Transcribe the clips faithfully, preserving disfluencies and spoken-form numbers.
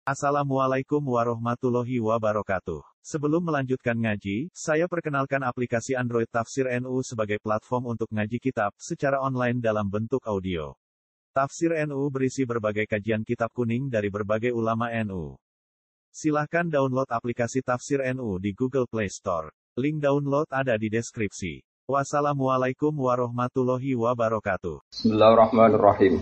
Assalamualaikum warahmatullahi wabarakatuh. Sebelum melanjutkan ngaji, saya perkenalkan aplikasi Android Tafsir N U sebagai platform untuk ngaji kitab secara online dalam bentuk audio. Tafsir N U berisi berbagai kajian kitab kuning dari berbagai ulama N U. Silahkan download aplikasi Tafsir N U di Google Play Store. Link download ada di deskripsi. Wassalamualaikum warahmatullahi wabarakatuh. Bismillahirrahmanirrahim.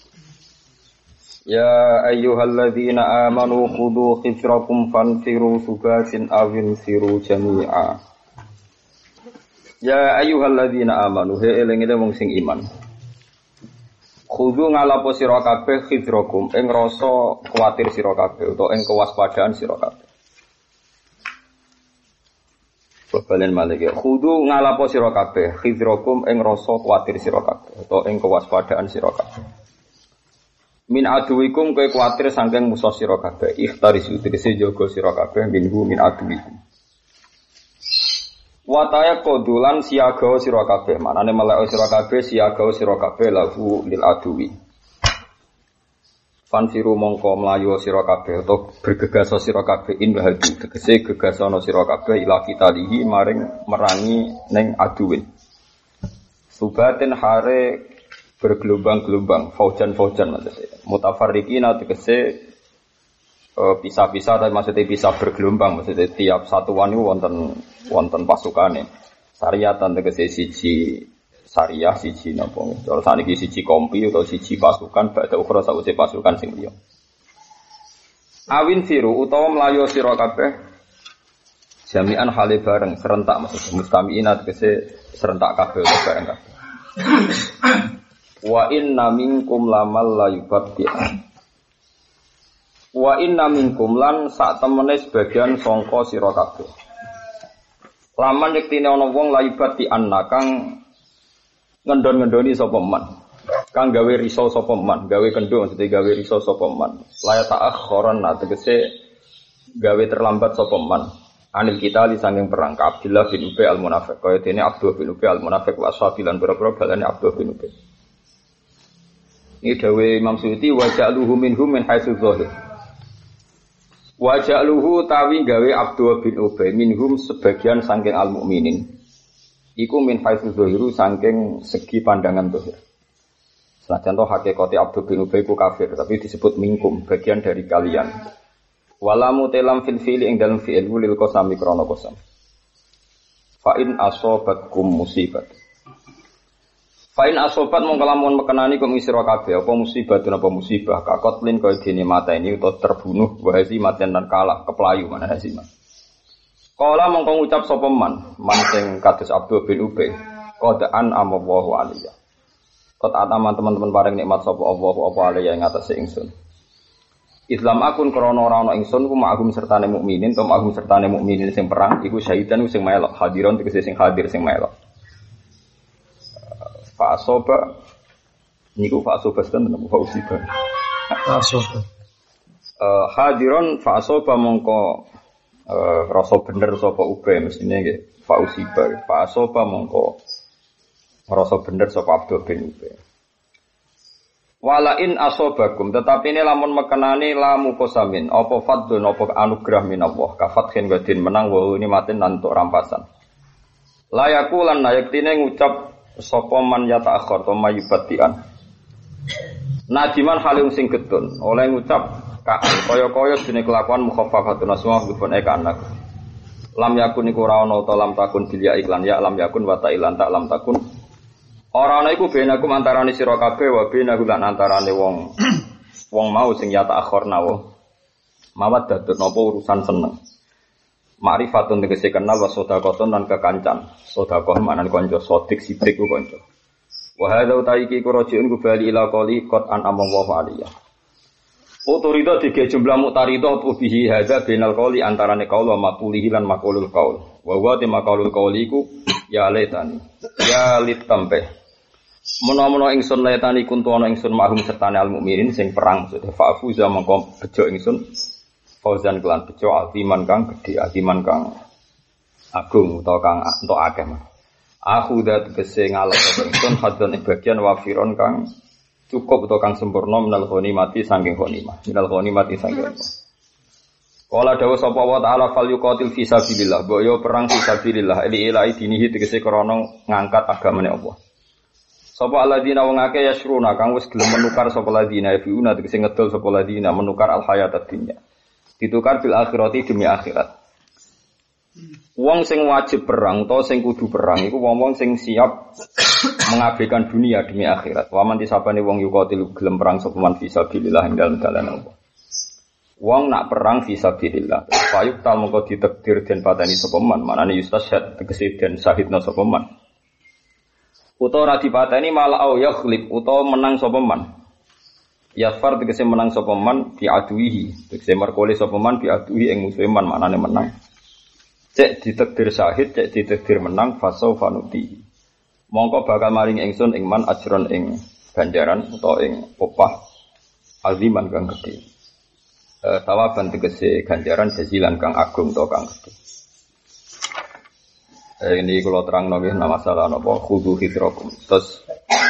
Ya ayyuhalladzina amanu khudhu khifrakum fanfiru subatin awin firu jami'a. Ya ayyuhalladzina amanu, he eling-eling wong sing iman. Khudhu ngalapo sira kabeh khifrakum ing rasa kuwatir sira kabeh utawa ing kewaspadaan sira kabeh. Balen malih ya. Khudhu ngalapo sira kabeh khifrakum ing rasa kuwatir sira kabeh utawa ing kewaspadaan sira kabeh. Min aduwikum kowe kuwatir saking musuh sira kabeh, ikhtarisu tegese jaga sira kabeh minhu min aduwikum. Wa tayaqudulan siaga sira kabeh, manane melek sira kabeh siaga sira kabeh lahu lil aduwi. Fanfiru mongko mlayu sira kabeh utawa bergegas sira kabeh in hadu tegese gegasana sira kabeh ila kitalihi maring merangi ning aduwin. Subatin hare bergelombang-gelombang, faujan-faujan maksudnya. Mutafarriqina tegese uh, pisah-pisah, tapi maksudnya pisah bergelombang, maksudnya tiap satuan itu wonten wonten pasukane. Sariyatan tegese siji sariyah, siji napa. Cara saniki siji kompi atau siji pasukan, badhe ukra sawise pasukan sing liya. Awin firu utawa mlayu sira kabeh jami'an hale bareng serentak maksudnya mustami'ina tegese serentak kabeh bareng kabeh. Wa inna minkum lamal la yubaddi'an. Wa inna minkum lan sak temene sebagian sangka sira kabeh. Laman yektine ana wong la yubaddi'an kang ngendon-ngendoni sapa man. Kang gawe riso sapa man, gawe kendho mesti gawe riso sapa man. La ta'akhkharan tegese gawe terlambat sapa man. Anil kita li sanging perang ka Abdullah bin Ubay al-Munafiq. Kaya dene Abdullah bin Ubay al-Munafiq wa ashabilan pira-pira balane Abdullah bin Ubay. Ini dawe Imam Suyuti wa ja'luhu minhum min haitsu dzahir. Wa ja'luhu tawi gawe Abdullah bin Ubay minhum sebagian saking al-mukminin. Iku min haitsu dzahiru saking segi pandangan dzahir. Senajan to hakikate Abdullah bin Ubay ku kafir, tapi disebut minkum, bagian dari kalian. Walamu telam fil fi'li ing dalem fi'il lil qasami krana qasam. Fa in asobatkum musibat. Fain asobat mongko lamun mekenani kum sira kabeh apa musibah apa musibah kakotlin kaya dene mata ini utawa terbunuh wahasi matian dan kalah keplayu mana hasiman. Kala mongko ngucap sapa man man sing kados Abdul bin Ubay qadaan amallahu alaiya. Qad ataman teman-teman paring nikmat sapa Allah apa alaiya ing atase ingsun. Islam akun krana ora ana ingsun ku ma'agum sertane mukminin to ma'agum sertane mukminin sing perang iku syahidan sing melok hadiron tegese sing hadir sing melok. Fa'asoba niku fa'asoba sedan napa fa'usiba fa'asoba eh hadiron fa'asoba mongko eh rasa bener sapa Ubay mestine nggih fa'usiba fa'asoba mongko rasa bener sapa Abdul bin Ubay wala in asobakum tetapi ini lamun mekenani lamu kosamin apa fadlun apa anugerah minallah kafathin wadin menang wa ini matin nantuk rampasan layakulan nayaktine ngucap sapa man yata akhir to mayubatian nadiman halim sing getun oleh ngucap kaya-kaya dene kelakuan mukhaffafatun asma bifun eka anak lam yakun iku ora ana ta lam takun bil ya iklan ya lam yakun wa ta ilan tak lam takun ora ana iku benakum antarane sira kabeh wa benahu lan antarane wong wong mau sing yata akhir nawa mawat dadut napa urusan seneng. Ma'rifatun tegese kenal wa sedekahun lan kekancan. Sedekah maknane kanca sodik sidik ku kanca. Wa hadza utaiki ku rajiun ku bali ila qali qad an amallahu aliyya. Otorita dige jumlah mutarida bihi hadza bainal qali antarane qaul wa maqulihi lan maqulul qaul. Wa wa te maqulul qauli ku ya letani. Ya litampe. Menawa-menawa ingsun letani kuntu ana ingsun mahum sertane al mukminin sing perang maksudnya fa'fuza mongko bejo ingsun fauzan kelan bejo altiman kang gedhe altiman kang agung utawa kang entuk akeh mah. Aku dat kese ngalap ingsun hadan bagian wafiron kang cukup utawa kang sempurna minal ghanimati saking ghanimah. Minal ghanimati saking Qala dawu sapa wa ta'ala fal yuqatil fi sabilillah, boyo perang fi sabilillah, ili ilahi dinihi tegese krana ngangkat agamane Allah. Sapa alladzina wong akeh yasruna kang wis gelem menukar sapa alladzina yafiuna tegese ngedol sapa alladzina menukar al hayatad dunya. Ditukar bil akhirati demi akhirat. Wong sing wajib perang utawa sing kudu perang iku wong-wong sing siap mengabaikan dunia demi akhirat. Wa man tisabane wong yuqatil gelem perang sapa man fi sabilillah ing dalem dalan Allah. Wong nak perang fi sabilillah, fayuk tal mongko ditakdir den pateni sapa man, manane yustashhad tegese den syahidna sapa man. Utawa ora dipateni malah au yakhlib utawa menang sapa man. Yafar tegese menang sapa man bi aduihi, tegese merkole sapa man bi aduhi ing musuhe man, manane menang. Cek ditakdir syahid, cek ditakdir menang fasau fanuti. Mongko bakal maring ingsun ing man ajron ing ganjaran utawa ing opah aziman kang gedhe. Uh, tawaban tegese ganjaran jazilan kang agung to kang gedhe. Uh, ini kula terangno nggih masalah napa khudu hidrakum. Terus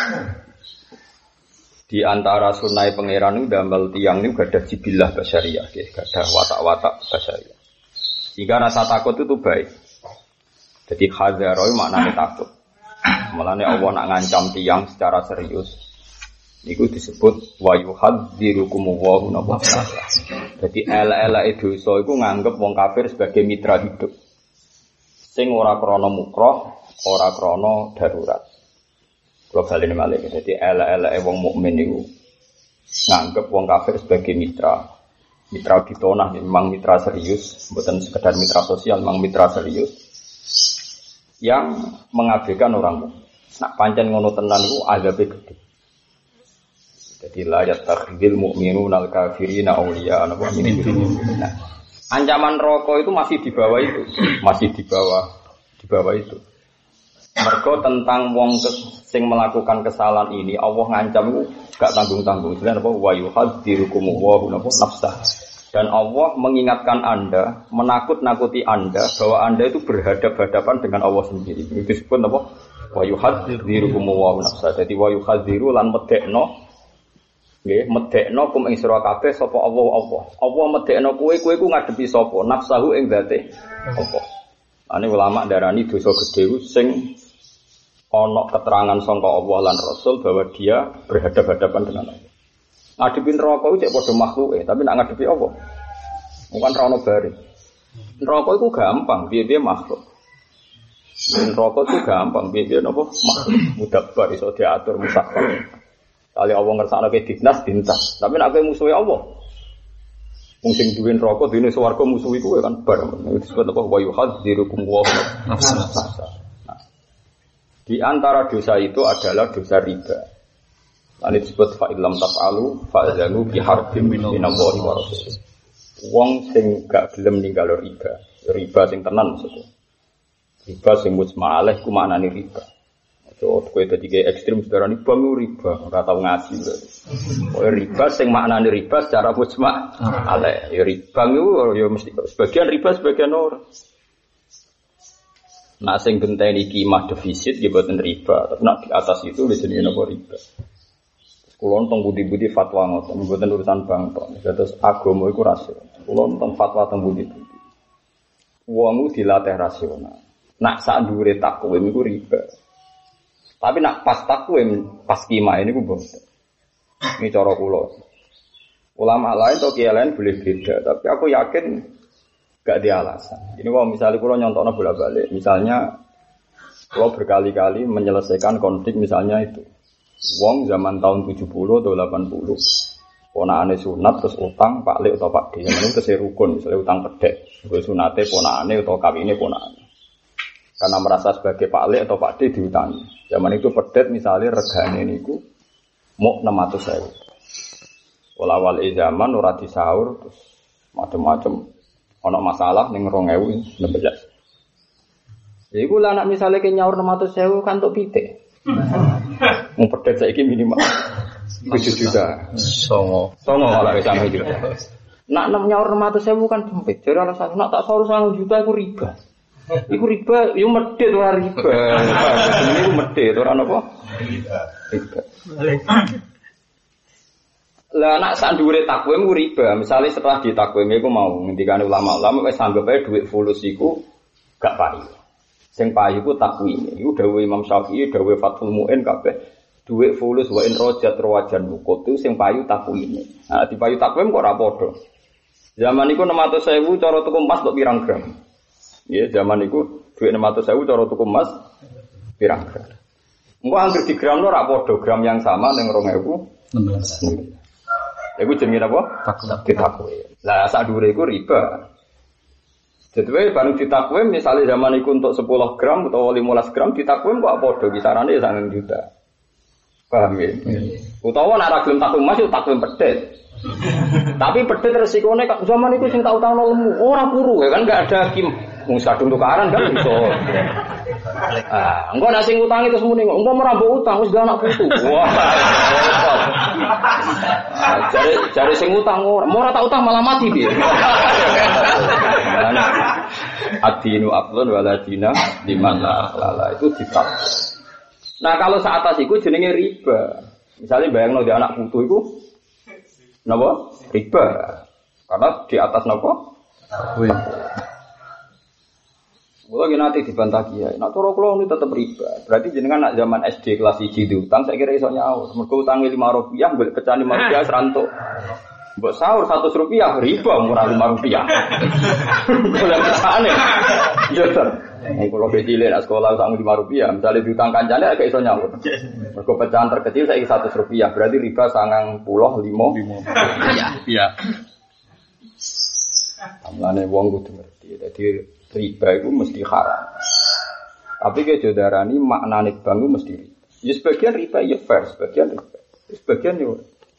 di antara sunai pangeran niku damel tiyang niku gadah jibilah basyariah nggih, gadah watak-watak basyariah. Jika rasa takut itu baik. Jadi hadzaroi maknane takut. Mulane Allah nak ngancam tiyang secara serius. Iku disebut wa yuhadzirukum wa nabata. Jadi elek-eleke dosa iku nganggep wong kafir sebagai mitra hidup. Sing ora krana mukroh, ora krana darurat. Kula baleni malih. Jadi elek-eleke wong mukmin iku nganggep wong kafir sebagai mitra. Mitra ditonah memang mitra serius, bukan sekedar mitra sosial, memang mitra serius yang mengabaikan orang mukmin. Nak pancen ngono tenan iku azabe gedhe. Jadi la yattakhidul mu'minuna al-kafirina awliya ana min dunillah. Nah, ancaman rokok itu masih di bawah itu, masih di bawah di bawah itu. Mergo tentang wong sing melakukan kesalahan ini Allah ngancam itu gak tanggung-tanggung. Sebenarnya apa wa yuhadzirukum wa nafsah. Dan Allah mengingatkan Anda, menakut-nakuti Anda bahwa Anda itu berhadap-hadapan dengan Allah sendiri. Itu disebut apa? Wa yuhadzirukum wa nafsah. Jadi wa yuhadziru lan medekno nggih medekno kum ing sira kabeh sapa Allah Allah. Allah medekno kowe kowe ku ngadepi sapa? Nafsahu ing zate Allah. Ane ulama darani dosa gedhe sing ana keterangan sangka Allah lan Rasul bahwa dia berhadap-hadapan dengan Allah. Ngadepi neraka iku cek padha makhluke, tapi nak ngadepi Allah bukan ra ono bare. Neraka iku gampang, piye-piye makhluk. Neraka iku gampang, piye-piye napa makhluk mudabbar iso diatur musaffar. Kali Allah ngersakno ke dinas dintas, tapi nek kowe musuhe Allah. Wong sing duwe neraka dene swarga musuh iku kan bar. Disebut apa wa yuhadzirukum wa nafsa. Nah, di antara dosa itu adalah dosa riba. Lan disebut fa illam taf'alu fa'zanu bi harbin minallahi wa rasulih. Wong sing gak gelem ninggal riba, riba sing tenan maksudnya. Riba sing mujma' alaih ku maknane riba. So, kowe dadi ge ekstrem sedarani bang riba, ora tau ngaji berarti. Kowe riba sing maknane riba secara mujma' alaih. Ya riba iku ya mesti sebagian riba sebagian ora. Nah sing genteni kimah defisit nggih boten riba, tapi nak di atas itu wis jenenge napa riba. Kulo teng budi-budi fatwa ngoten, mboten urusan bank tok. Terus agama iku rasional. Kulo teng fatwa teng budi-budi. Wong dilatih rasional. Nak sak dhuwure takwim iku riba. Tapi nak pas takwim, pas kimah ini ku boten. Ini cara kula. Ulama lain atau kiai lain boleh beda, tapi aku yakin gak ada alasan. Ini kalau misalnya kula nyontokno bolak-balik, misalnya kula berkali-kali menyelesaikan konflik misalnya itu. Wong zaman tahun tujuh puluh atau delapan puluh ponakane sunat terus utang Pak Lek atau Pak D. Yang itu rukun, misalnya utang pedek. Gue sunate ponakane atau kawine ponakane. Karena merasa sebagai Pak Lek atau Pak D diutangi. Zaman itu pedet misalnya regane niku mau enam ratus ribu. Walawal zaman ora disaur terus macam-macam ana masalah ning dua ribu enam belas. Ya iku lah nek misale ke nyaur enam ratus ribu kan tok pitik. Mau pedet saiki minimal tujuh juta. Songo. Songo ala wis sampe juta. Nak nyaur enam ratus ribu kan sempit. Jadi alasan nak tak saur satu juta iku riba. Iku riba, yo medhit ora riba. Ini ku medhit ora napa? Riba. Riba. Lah nak sak dhuwure takwim ku riba. Misale setelah ditakwim iku mau ngendikane ulama-ulama wis anggap ae dhuwit fulus iku gak payu. Sing payu ku takwime. Iku dawuh Imam Syafi'i, dawuh Fathul Mu'in kabeh dhuwit fulus wa in rajat rawajan mukotu sing payu takwime. Nah, dipayu takwim kok ora padha. Zaman iku enam ratus ribu cara tuku emas kok pirang gram. Ya, zaman iku dhuwit enam ratus ribu cara tuku emas pirang gram. Engko anggere di gram ora padha, gram yang sama ning dua ribu enam belas. Iku jenenge apa? Ditakwim. Lah sak dhuwure iku riba. Jadi bareng ditakwim misalnya zaman iku untuk sepuluh gram atau lima belas gram ditakwim kok padha kisarane ya sangang juta. Paham ya? Utawa nek ora gelem takwim mas yo takwim pedhet. Tapi pedhet resikone zaman iku sing tak utangno lemu, ora puru ya kan enggak ada kim. Wong sadung tukaran kan iso. Ah, engko nek sing utangi terus muni kok engko ora mbok utang wis gak anak putu. Wah. Jare jare sing utang ora, ora tak utang malah mati piye. Adinu afdhal waladina dimana lala itu ditak. Nah kalau saat atas itu jenenge riba. Misalnya bayangno di anak putu itu napa? Riba. Karena di atas napa? Wih. Kalau nanti dibantah kiai, nak cara kula ini tetap riba. Berarti jenengan nak zaman S D kelas satu diutang, saya kira iso nyaur. Mergo utange lima rupiah, mbok pecahan lima rupiah serantuk. Mbok sahur seratus rupiah riba murah lima rupiah. Kula pecahane. Yo ter. Nek kula becile nak sekolah utang lima rupiah, misalnya diutang kancane agak iso nyaur. Mergo pecahan terkecil saiki seratus rupiah, berarti riba sangang puluh lima. Iya, iya. Amlane wong kudu ngerti. Dadi riba itu mesti haram. Tapi ke jodarani maknane bank itu mesti riba. Ya sebagian riba ya fair, sebagian riba. Sebagian ya.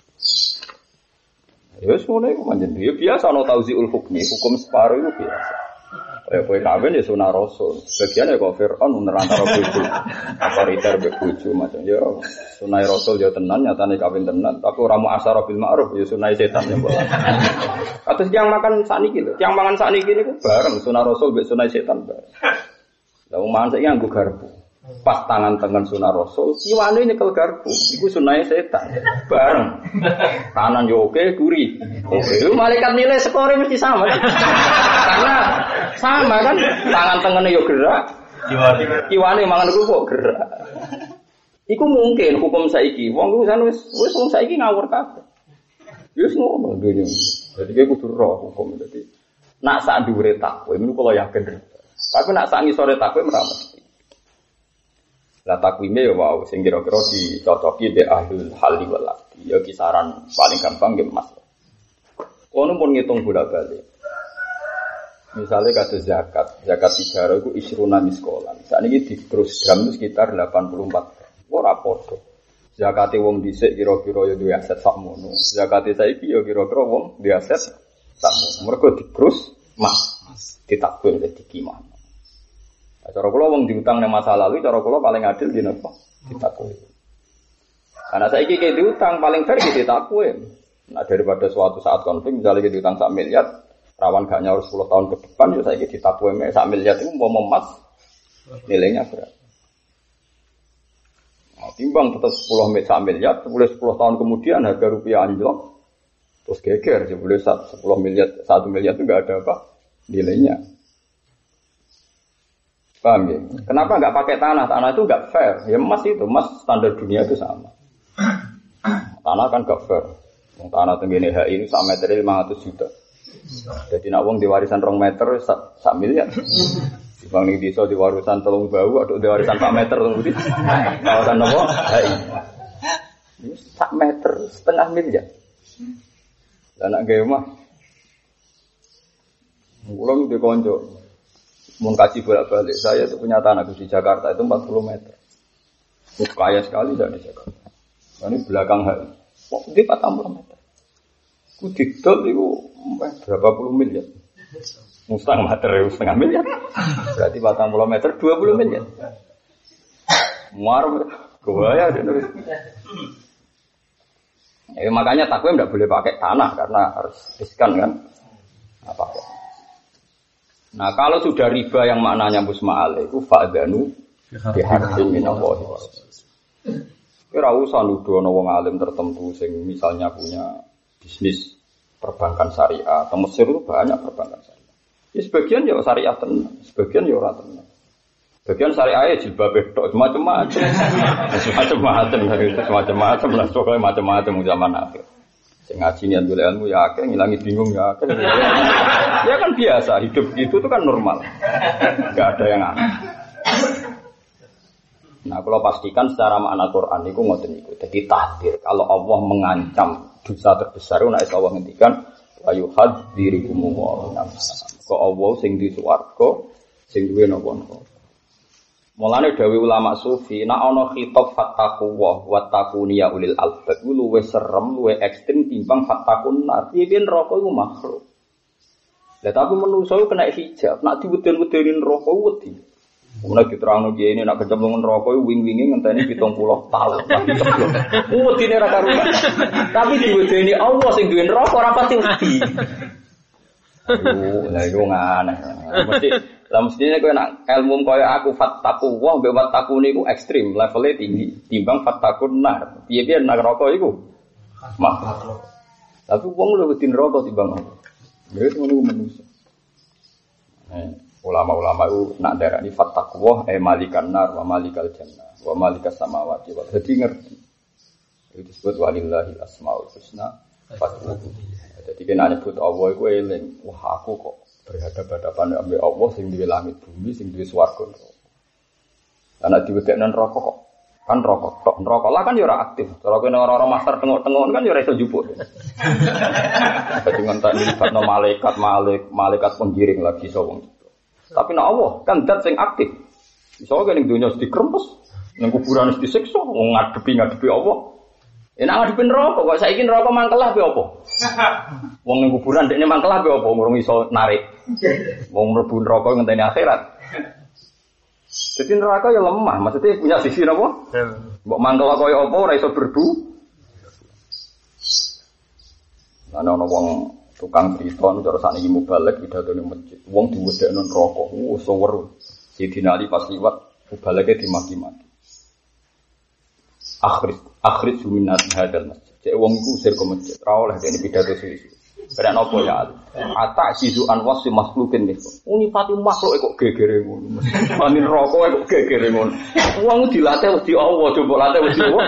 Ya semuanya itu manjen. Ya biasa ana tauziul hukmi, hukum separuh itu biasa. Kayak kowe kawin ya sunah rasul. Sebagian ya kok Firaun nerantara bojo. Apa ritar mbek bojo macam ya sunah rasul ya tenan nyatane kawin tenan, tapi ora mu asyara bil ma'ruf ya sunah setan ya bola. Atus yang makan sakniki lho, yang mangan sakniki niku bareng sunah rasul mbek sunah setan bareng. Lah wong mangan saiki nganggo garpu. Pas tangan tengen sunah rasul, kiwane nyekel garpu. Iku sunah setan. Bareng. Kanan yo oke, kuri. Oke, lu malaikat nilai skore mesti sama kan? Karena sama kan, tangan tengene yo gerak. Kiwane. Kiwane mangan kerupuk gerak. Iku mungkin hukum saiki. Wong ku wis wis wong saiki ngawur kabeh. Wis ngono dunya. Jadi kayak kudu roh hukum dadi. Nak sak dhuwure takwim niku kula yakin. Tapi nak sak ngisore takwim ora mesti. Lah takwime ya wow sing kira-kira dicocoki be ahlul halli wal aqdi. Ya kisaran paling gampang nggih Mas. Ono pun ngitung bolak-balik. Misalnya kados zakat, zakat tijaro iku isruna miskolan. Sakniki dikrus gram itu sekitar delapan puluh empat gram. Ora padha. Zakate wong dhisik kira-kira ya duwe aset sakmono. Zakate saiki ya kira-kira wong duwe aset sakmono. Mergo dikrus mas, ditakwil dadi kimah. Cara kula wong diutang nang masa lalu, cara kula paling adil di napa? Ditakwil. Karena saiki ki diutang paling fair ki ditakwil. Nah daripada suatu saat konflik misalnya kita diutang sak miliar, rawan gak nyaur sepuluh tahun ke depan ya saiki ditakwil sak miliar itu mau emas nilainya berapa? Nah, timbang tetap sepuluh miliar, boleh sepuluh tahun kemudian harga rupiah anjlok, terus geger, boleh sepuluh miliar, satu miliar itu nggak ada apa nilainya. Paham ya? Kenapa nggak pakai tanah? Tanah itu nggak fair. Ya emas itu, emas standar dunia itu sama. Tanah kan nggak fair. Tanah tenggine H I ini sak meter lima ratus juta. Jadi nak wong di warisan rong meter sak, sak miliar. Bang ning desa di warisan telung bau, aduk di warisan sak meter telung budi. Kawasan nopo? Hai. Ini sak meter setengah miliar. Lah nak gawe mah. Kula nu dikonco. Mun kaji bolak-balik saya itu punya tanah di Jakarta itu empat puluh meter. Kaya sekali dari Jakarta. Ini belakang hari. Kok di empat puluh meter. Ku didol itu berapa puluh miliar. Setengah meter, setengah miliar. Berarti empat puluh meter, dua puluh miliar. Muar, kebaya. Ya, makanya takwim tidak boleh pakai tanah karena harus riskan kan. Apa? Nah kalau sudah riba yang maknanya musma'al itu fa'adhanu biharbin minallahi wa rasul. Ora usah nuduh ana wong alim tertentu sing misalnya punya bisnis perbankan syariah. Di Mesir itu banyak perbankan syariah. Ya sebagian ya syariah tenan, sebagian ya ora tenan. Sebagian syariah ya jilbab tok macam-macam. Macam-macam dari macam-macam lah pokoke macam-macam zaman akhir. Sing ngaji niat golek ilmu ya akeh, ngilangi bingung ya akeh. Ya kan biasa, hidup gitu itu kan normal. Enggak ada yang aneh. Nah, kalau pastikan secara makna Quran itu ngoten niku. Jadi tahdir. Kalau Allah mengancam dosa terbesar, nek Allah ngendikan ayu hadzirikum wa nafsa. Kok Allah sing di swarga, sing duwe napa-napa. Mulane dawuh ulama sufi, nek ana khitab fattaqu wa wattaquni ya ulil albab, luwih serem, luwih ekstrem timbang fattaqun nar. Piye neraka iku makhluk. Lah tapi manusa kena hijab, nek diweden-wedeni neraka wedi. Mulai diterangno iki ini nak kecemplung neraka wing-winge ngenteni pitung puluh tahun. Wedine ra karuan. Tapi diwedeni Allah sing duwe neraka ora pati wedi. Aduh, lha iku ngane. Mesti lah mestine kowe nak ilmu koyo aku fattaqu wa mbek wattaqu niku ekstrem, levelnya tinggi timbang fattaqun nar. Piye-piye neraka iku makhluk. Tapi wong luwih wedi neraka timbang Allah. Lha iku ngono manusa. Eh ulama-ulama itu nak darani fattaqwa eh malikan nar wa malikal jannah wa malikas samawati wa jadi ngerti itu disebut walillahil asmaul husna fad'uhu. Jadi kena nyebut Allah iku eling, wah aku kok berhadapan-hadapan ambek Allah sing duwe langit bumi sing duwe swarga. Ana diwedekno neraka kok kan neraka tok neraka lah kan ya ora aktif. Cara kene ora-ora master tengok-tengok kan ya ora iso njupuk. Dadi ngentak libatno malaikat malik malaikat penggiring lagi sawung. Tapi nak Allah kan zat sing aktif. Misalnya ning dunya mesti krempes, ning kuburan mesti disiksa, wong ngadepi-ngadepi Allah. Enak ngadepi neraka kok saiki neraka mangkelah piye apa? Wong ning kuburan dekne mangkelah piye apa ngurung iso narik. Wong mlebu neraka ngenteni akhirat. Jadi neraka ya lemah, maksudnya punya sisi napa? Mbok mangkel kaya apa ora iso berbu. Ana ana wong tukang cerita nu cara sakniki mubalek pidatone masjid. Wong diwedekno neraka. Oh, seweru. Sidina Ali pas liwat mubaleke dimaki-maki. Akhir akhir suminat hadal masjid. Cek wong iku usir ke masjid. Ora oleh dene pidato sisi. Beran apa ya Ali? Ata sizu anwas makhlukin niku. Unifati makhluk kok gegere ngono. Mani neraka kok gegere ngono. Wong dilatih wedi Allah, coba latih wedi Allah.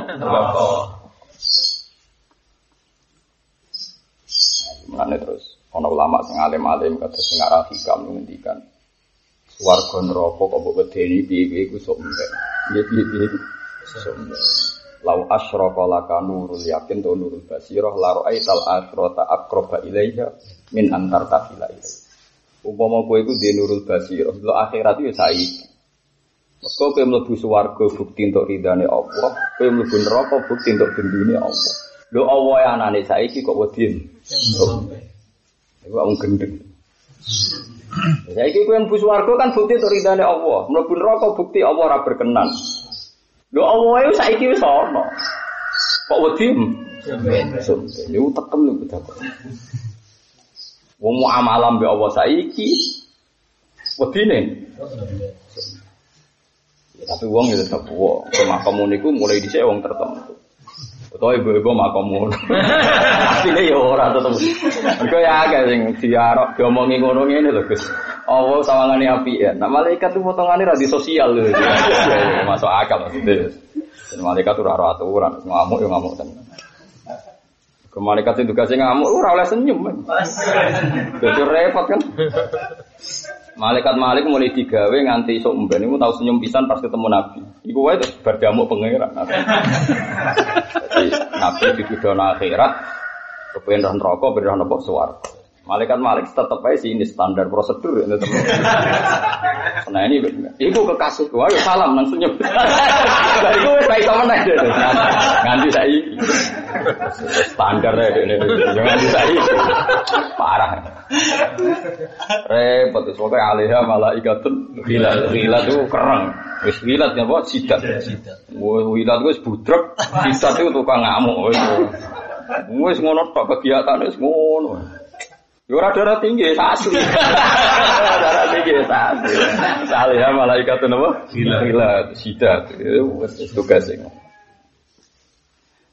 Mulane terus ana ulama sing alim-alim kata sing arah hikam ngendikan swarga neraka kok mbok wedeni piye-piye iku sok mbek. Piye-piye sok mbek. Lau asyraka laka nurul yakin to nurul basirah la ra'aital akhirata aqraba ilaiha min antar tafila ilaiha. Umpama kowe iku dhe nurul basirah, lho akhirat iki saiki. Meko kowe mlebu swarga bukti entuk ridane Allah, kowe mlebu neraka bukti entuk gendune Allah. Lho Allah ya anane saiki kok wedi. Iku wong gendeng. Saiki kowe mlebu swarga kan bukti to ridane Allah, mlebu neraka bukti Allah ora berkenan. Lho Allah iku saiki wis ana. Kok wedi? Sampe niku tekem lho bedakon. Wong muamalah mbek Allah saiki wedine. Tapi wong ya tetep wong, makom niku mulai dhisik wong tertentu. Utawa ibu-ibu makomu. Asline ya ora tetep. Mergo ya akeh sing diarok diomongi ngono ngene lho, Gus. Allah sawangane apike. Nek malaikat itu potongane ra di sosial lho. Masuk akal maksudnya. Dan malaikat ora ora aturan, ngamuk yo ngamuk tenan. Ke malaikat itu tugasé ngamuk ora oleh senyum. Dadi repot kan. Malaikat Malik mulai digawe nganti esuk mben niku tau senyum pisan pas ketemu Nabi. Iku wae terus bar diamuk pangeran. Jadi Nabi dituduhna akhirat kepen roh neraka ben roh nepok swarga. Malaikat Malik tetep ae sini standar prosedur ya tetep. Nah ini iku kekasih wae salam nang senyum. Lah iku wis iso meneh dhewe. Nganti saiki. Standar ae dene nganti saiki. Parah. Repot wis pokoke alaiha malaikatun hilal hilal itu kereng. Wis hilal ya apa sidat. Hilal wis budrek, sidat itu tukang ngamuk wis. Wis ngono tok kegiatane wis ngono. Yo ora darah tinggi asli. Darah tinggi asli. Alaiha malaikatun apa? Hilal hilal sidat. Wis tugas sing.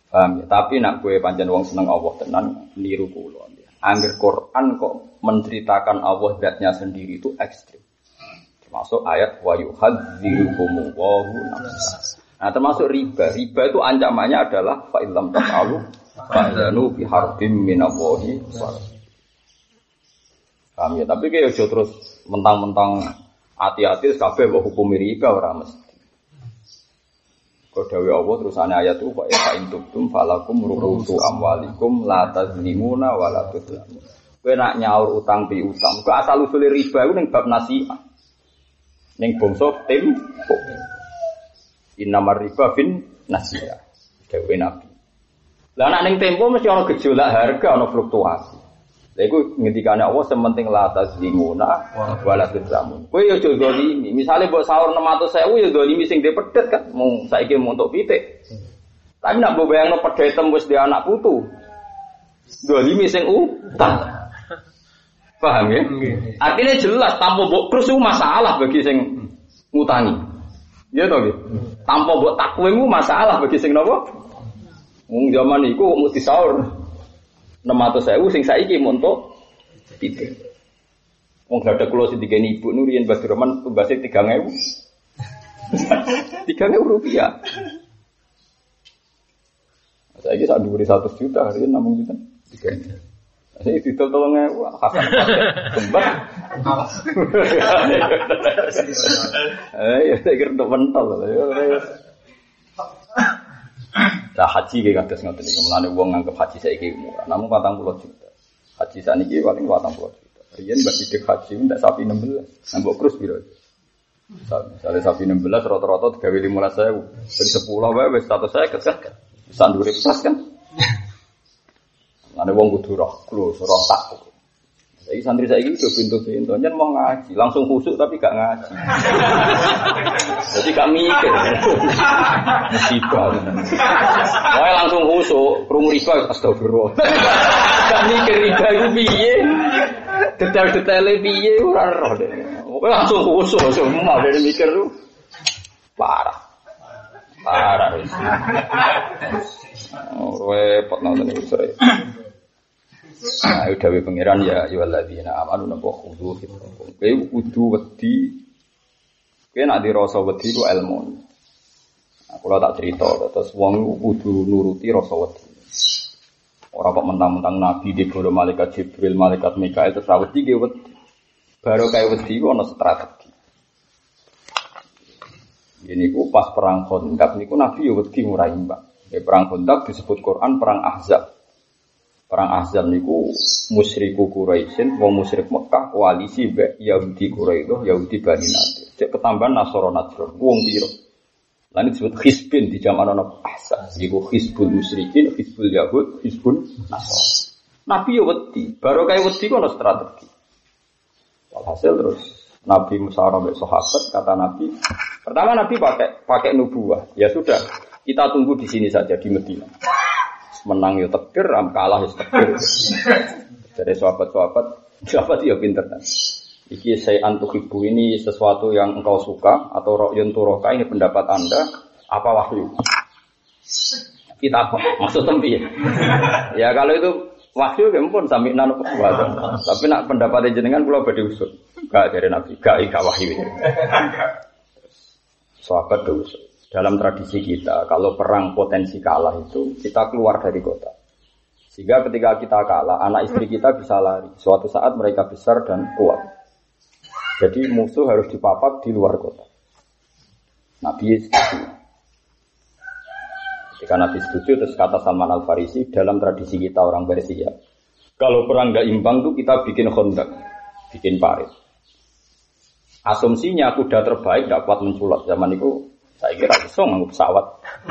Paham ya? Tapi nak kowe pancen wong seneng Allah tenan niru kula. Angger Quran kok menceritakan Allah zatnya sendiri itu ekstrim. Termasuk ayat wa yuhadzirukumullahu nafsa. Nah, termasuk riba. Riba itu ancamannya adalah fa illam taf'alu fa'zanu bi harbin minallahi wa Paham ya? Tapi kayak aja terus mentang-mentang hati-hati kabeh mbok hukum riba ora mesti. Kau dawe Allah terusane ayat itu fa in tubtum falakum ru'usu amwalikum la tazlimuna wa la tudlamun. Kowe nak nyaur utang pi utang. Kok asal usule riba iku ning bab nasiah. Ning bangsa tim innamar riba fin nasiah. Dawe Nabi. Lah nak ning tempo mesti ana gejolak harga, ana fluktuasi. Lha iku ngendikane Allah sementing la tazlimuna wa la tudlamun. Kowe yo aja zalimi. Misale mbok sahur enam ratus ribu ya zalimi sing dhe pedhet kan. Mung saiki mung untuk pitik. Tapi nak mbok bayangno pedhet wis dhe anak putu. Zalimi sing utang. Paham ya? Artinya jelas tanpa mbok krus iku masalah bagi sing ngutangi. Ya to nggih. Tanpa mbok takwe iku masalah bagi sing napa? Wong zaman iku mung disaur enam ratus ribu sing saiki montok pitik. Wong gak kula sing digeni ibu nu riyen Mbah Roman tumbase tiga ribu. tiga ribu rupiah. Saiki sak dhuwure seratus juta riyen namung pinten? tiga ribu. Saiki didol tolong ribu hasan kembar. Eh ya tak kira mentol. Lah haji ge kados ngoten iki. Mulane wong nganggep haji saiki murah. Namung patang puluh juta. Haji saniki paling patang puluh juta. Riyen mbak sidik haji ndak sapi enam belas. Nambok krus piro? Misalnya sapi enam belas rata-rata digawe lima belas ribu. Ben sepuluh wae wis seratus ribu kan. Bisa ndure plus kan. Mulane wong kudu roh, klus, roh tak. Saiki santri saiki do pintu-pintu nyen mau ngaji, langsung khusuk tapi gak ngaji. Jadi gak mikir. Musibah. Wae langsung khusuk, krungu riba astagfirullah. Gak mikir riba iku piye? Detail-detaile piye ora roh deh. Wae langsung khusuk, semua dari mikir lu. Parah. Parah wis. Oh, repot nonton iki sore. Nah, dawuh pangeran ya ayyuhalladzina amanu napa khudu fikum. Kowe kudu wedi. Kowe nek dirasa wedi ku ilmu. Aku ora tak cerita terus wong kudu nuruti rasa wedi. Ora kok mentang-mentang nabi digoro malaikat Jibril, malaikat Mikail terus wedi ge wedi. Baru kaya wedi ku ana strategi. Ini ku pas perang Khandaq niku nabi yo wedi ora imbang. Ya perang Khandaq disebut Quran perang Ahzab. Perang Ahzab niku musyriku Quraisyin, wong musyrik Mekah koalisi mbek Yahudi Quraisy, Yahudi Bani Nadir. Cek ketambahan Nasara Najran, wong pira. Lan disebut Hizbin di zaman ana Ahzab. Iku Hizbul Musyrikin, Hizbul Yahud, Hizbul Nasara. Nabi yo wedi, baru kaya wedi ku ana strategi. Walhasil terus Nabi musyawarah mbek sahabat, kata Nabi, pertama Nabi pakai pakai nubuwah. Ya sudah, kita tunggu di sini saja di Madinah. Menang yo tekir, am kalah yo tekir. Jadi sahabat-sahabat, sahabat yo pinter kan. Iki saya antuhibu ini sesuatu yang engkau suka atau ra'yun turoka ini pendapat Anda apa wahyu? Kita apa? Maksud tempi. Ya kalau itu wahyu kempun sami nanu kuwatan. Tapi nak pendapatnya jenengan kula badhe usut. Gak dari Nabi, gak gak wahyu. Sahabat usut. Dalam tradisi kita, kalau perang potensi kalah itu, kita keluar dari kota. Sehingga ketika kita kalah, anak istri kita bisa lari. Suatu saat mereka besar dan kuat. Jadi musuh harus dipapak di luar kota. Nabi setuju. Ketika Nabi setuju, terus kata Salman Al-Farisi, dalam tradisi kita orang Persia, kalau perang gak imbang tuh kita bikin Khandaq, bikin parit. Asumsinya kuda terbaik gak kuat menculat. Zaman itu saya kira iso nganggo pesawat.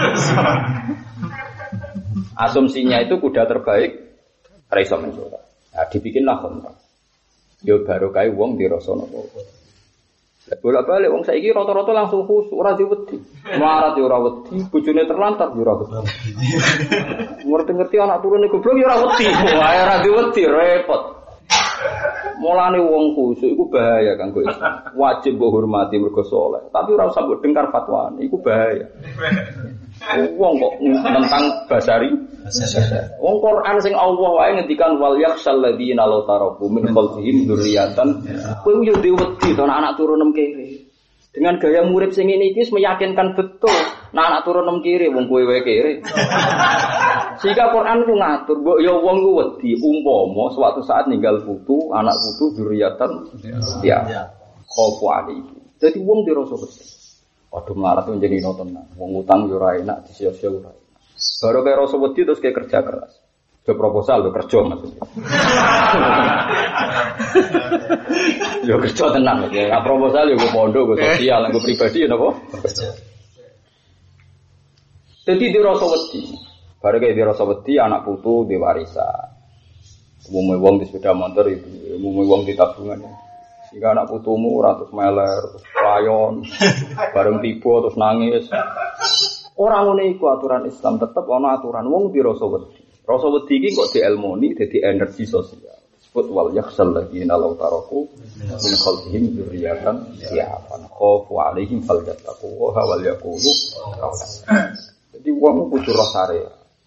Asumsinya itu kuda terbaik ora iso menculat. Nah, dibikinlah Khandaq. Yo baru kae wong dirasa napa. Lah bolak-balik wong saiki rata-rata langsung khusuk ora diwedi. Melarat yo ora wedi, bojone terlantar yo ora wedi. Ngerti-ngerti anak turune goblok yo ora wedi. Wae ora diwedi repot. Mulane wong khusuk iku bahaya kanggo Islam. Wajib mbok hormati mergo saleh, tapi ora usah mbok dengkar fatwane, iku bahaya. Wong kok tentang basari. Wong Quran sing Allah wae ngendikan wal yakhshal ladzina law taraku min khalfihim dzurriatan. Kowe yo dhewe wedi to anak turu nem kene. Dengan gaya murid sing ngene iki meyakinkan betul nah anak turu nem kiri wong kowe wae kiri. Sehingga Quran ku ngatur mbok ya wong ku wedi umpama suatu saat ninggal putu, anak putu dzurriatan ya. Khofu alaihi. Dadi wong dirasa wedi. Padha melarat menjadi nonton. Wong utang yo ora enak, disia-sia ora. Baru kaya rasa wedi terus kayak kerja keras. Ke proposal lo kerja maksudnya. Yo kerja tenang ya. Nah, proposal yo gue pondok, gue sosial, gue pribadi napa? Kerja. Jadi di rasa wedi. Baru kayak di rasa wedi anak putu di warisan. Umumnya wong di sepeda motor itu, umumnya wong di tabungan. Jika anak putumu ratus meler, terus layon, bareng tiba terus nangis. Orang ngene iku aturan Islam tetep ana aturan wong di rasa wedi. Rasa wedi iki kok dielmoni dadi energi sosial. Disebut wal yakhsal ladzina law taraku min khalfihim dzurriatan ya'fan khafu 'alaihim falyattaqu wa wal yaqulu qawlan. Jadi wong kudu rasare.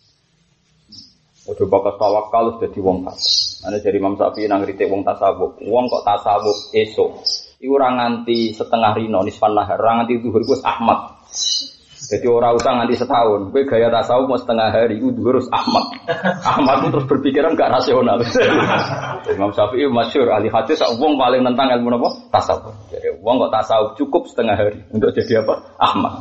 Ojo bakas tawakal dadi wong fasik. Ana dari Imam Syafi'i nang kritik wong tasawuf. Wong kok tasawuf esuk iku ora nganti setengah rino nisfan nahar, ora nganti zuhur wis Ahmad. Jadi orang usah nganti setahun. Gue gaya tasawuf mau setengah hari. Gue harus Ahmad. Ahmad itu terus berpikiran gak rasional. Imam Syafi'i masyhur ahli hadis. Wong paling nentang ilmu apa? Tasawuf. Jadi wong kok tasawuf cukup setengah hari untuk jadi apa? Ahmad.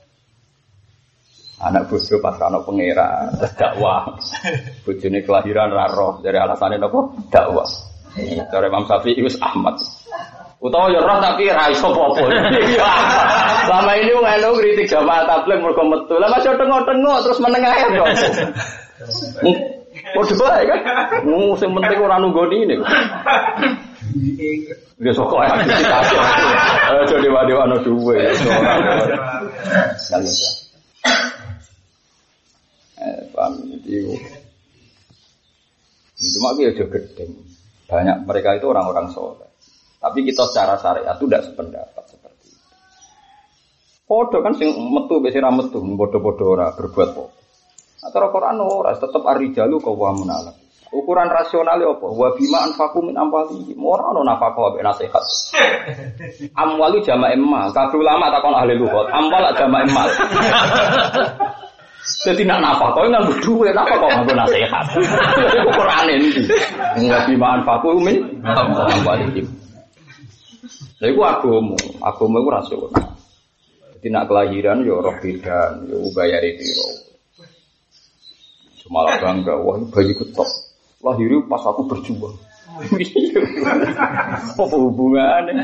Anak bodoh pas anak pengira dakwah. Bojone kelahiran raro dari alasannya apa? Dakwah. Dari Imam Syafi'i wis Ahmad. Utawa ya roh tapi ra iso apa-apa. Selama ini wong anu kritik jamaah tabligh mergo metu. Lah masih tengok-tengok terus menengah ae kok. Podo bae kan. Nu sing penting ora nunggoni ini. Dia sok ae aktivitas. Aja dewa-dewa ana duwe. Eh, paham itu. Cuma dia aja gedeng. Banyak mereka itu orang-orang soleh. Tapi kita secara syariat itu tidak sependapat seperti itu. Podo kan sing metu besi ra metu, bodoh-bodoh ora berbuat apa. Atau Quran ora tetep ar-rijalu qawwamun 'ala. Ukuran rasionale apa? Wa bima anfaqu min amwalihim. Ora ono nafaqah mek nasihat. Amwalu jama' mal. Kabeh ulama takon ahli lughat. Amwal jama' mal. Jadi nak nafaqah nganggo dhuwit, napa kok nganggo nasihat. Ukurane iki. Wa bima anfaqu min amwalihim. Lha iku agama, agama iku rasional. Dadi nak kelahiran ya roh bidan, ya bayare piro. Cuma bangga, wah bayi ketok. Lahir pas aku berjuang. Apa hubungannya?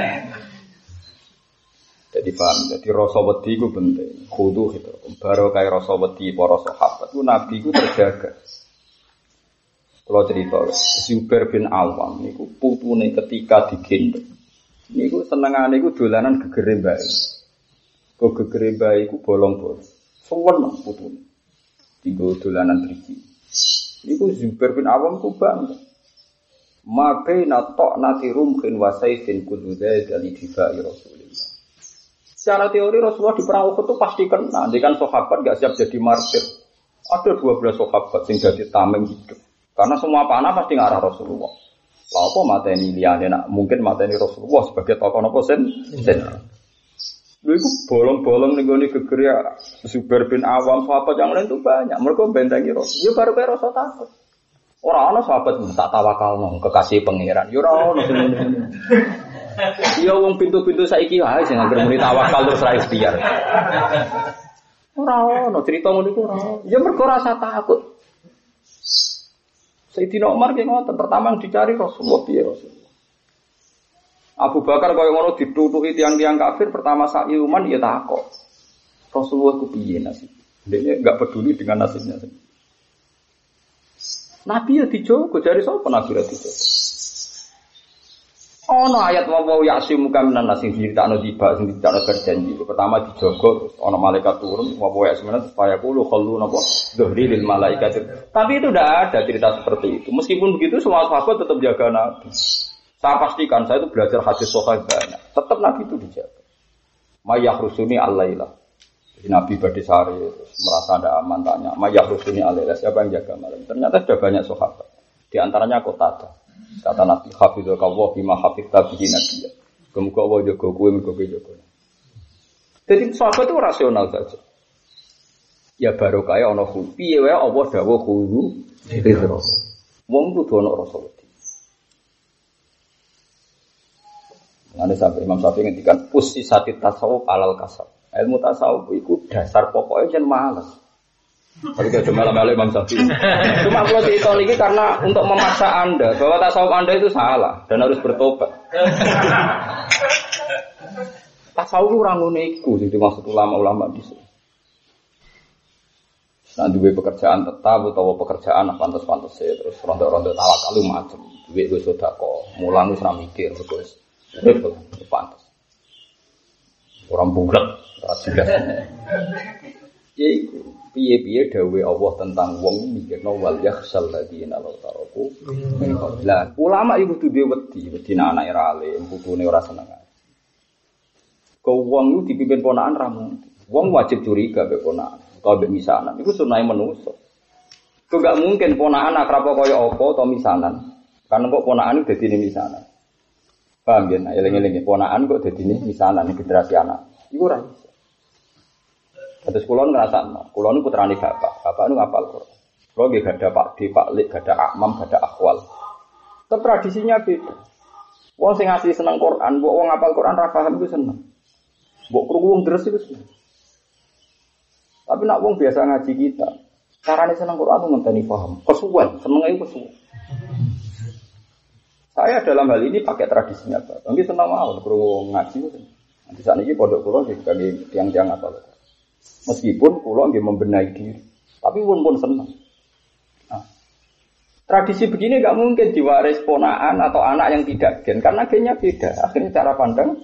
Jadi paham, jadi rasa wedi iku penting. Kudu gitu. Baru kaya rasa wedi para sahabat itu Nabi iku terjaga. Kalau cerita Zubair bin Awam niku putune ketika digendong. Niku senengane iku dolanan gegere mbae. Kok gegere mbae iku bolong-bolong. Suwen putune. Dienggo dolanan driji. Niku Zubair bin Awam ku bangga. Ma baina ta'nati rumhin wa sayfin kullu dzalika li difa'i Rasulillah. Secara teori Rasulullah di perang Uhud itu pasti kena. Nanti kan sahabat enggak siap jadi martir. Ada dua belas sahabat yang jadi tameng hidup. Karena semua panah pasti ngarah Rasulullah. Lah apa mateni liyane nak mungkin mateni Rasulullah sebagai tokoh napa sen? Sen. Lha iku bolong-bolong ning gone gegere Zubair bin Awam sahabat yang lain itu banyak. Mereka bentengi Rasul. Ya baru kaya rasa takut. Ora ana sahabat tak tawakalno kekasih pangeran. Ya ora ono sing ngene. Ya wong pintu-pintu saiki wae sing anggere muni tawakal terus ra ikhtiar. Ora ono cerita ngono iku ora. Ya mergo rasa takut. Sayyidina Umar ki ngoten, pertama yang dicari Rasulullah piye Rasulullah. Abu Bakar kaya ngono ditutuki tiang-tiang kafir, pertama sak iman ya takok. Rasulullah ku piye nasib? Dia enggak peduli dengan nasibnya sendiri. Nabi ya dijogo, jare sapa Nabi ra dijogo. Ono ayat wa wa ya'simu kaminan nasi dicritakno tiba sing dicritakno berjanji. Pertama dijogo terus ono malaikat turun wa wa ya'simu supaya kulo khallu napa dhuhri lil malaikat. Tapi itu tidak ada cerita seperti itu. Meskipun begitu semua sahabat tetap jaga Nabi. Saya pastikan saya itu belajar hadis sahih banyak. Tetap Nabi itu dijaga. Mayahrusuni al-laila. Nabi badhe sari terus merasa ada aman tanya, "Mayah rusuni alaihi siapa yang jaga malam?" Ternyata sudah banyak sahabat. Di antaranya Qatada. Kata Nabi, "Hafizaka wa bima hafizta bihi nabiyya." Kemudian Allah jaga kowe mergo kowe jaga. Jadi sahabat itu rasional saja. Ya barokah ya ana khulu. Piye wae Allah dawuh khulu ridho. Wong kudu ana rasa wedi. Nanti sampai Imam Syafi'i ngendikan pusisati tasawuf alal kasab. Ilmu tasawuf itu dasar pokoknya jangan malas. Tapi kalau cuma malam Imam Syafi'i. Cuma kalau cerita ini karena untuk memaksa Anda bahwa tasawuf Anda itu salah dan harus bertobat. Tasawuf orang uniku, jadi maksud ulama-ulama di sini. Nah, duwe pekerjaan tetap atau pekerjaan pantas-pantas ya terus ronda-ronda tawakal macam. Duwe gue sedekah, mulang wis ra mikir terus. Itu pantas. Orang bulat, ora jelas. Ya iku, piye-piye dawuh Allah tentang wong mikirno wal yakhsal ladina law taraku. Lah, ulama iku kudu duwe wedi, wedi anake ra alim, putune ora seneng. Kau wong itu dipimpin ponakan ramu. Wong wajib curiga be ponakan. Kau be misanan. Itu sunai manusia. Kau gak mungkin ponakan akrab kaya apa atau misanan. Karena kok ponakan itu jadi misanan. Paham ya? Eling-eling ponakan kok jadi misanan generasi anak. Iku ora iso. Terus kulon ngrasakno. Kulon niku putrane bapak. Bapak niku ngapal Quran. Kulo nggih gadah Pak D, Pak Lik, gadah Akmam, gadah Akwal. Tapi tradisinya beda. Wong sing asli seneng Quran, mbok wong ngapal Quran ra paham iku seneng. Mbok krungu wong deres iku seneng. Tapi nak wong biasa ngaji kita, carane seneng Quran itu ngenteni paham. Kesuwen, senenge iku kesuwen. Saya dalam hal ini pakai tradisinya Pak. Mungkin seneng mawon krungu ngaji itu. Nanti saat ini pondok kula nggih kangge tiang-tiang apa. Meskipun kula nggih membenahi diri, tapi pun-pun seneng. Nah, tradisi begini enggak mungkin diwaris ponakan atau anak yang tidak gen karena gennya beda. Akhirnya cara pandang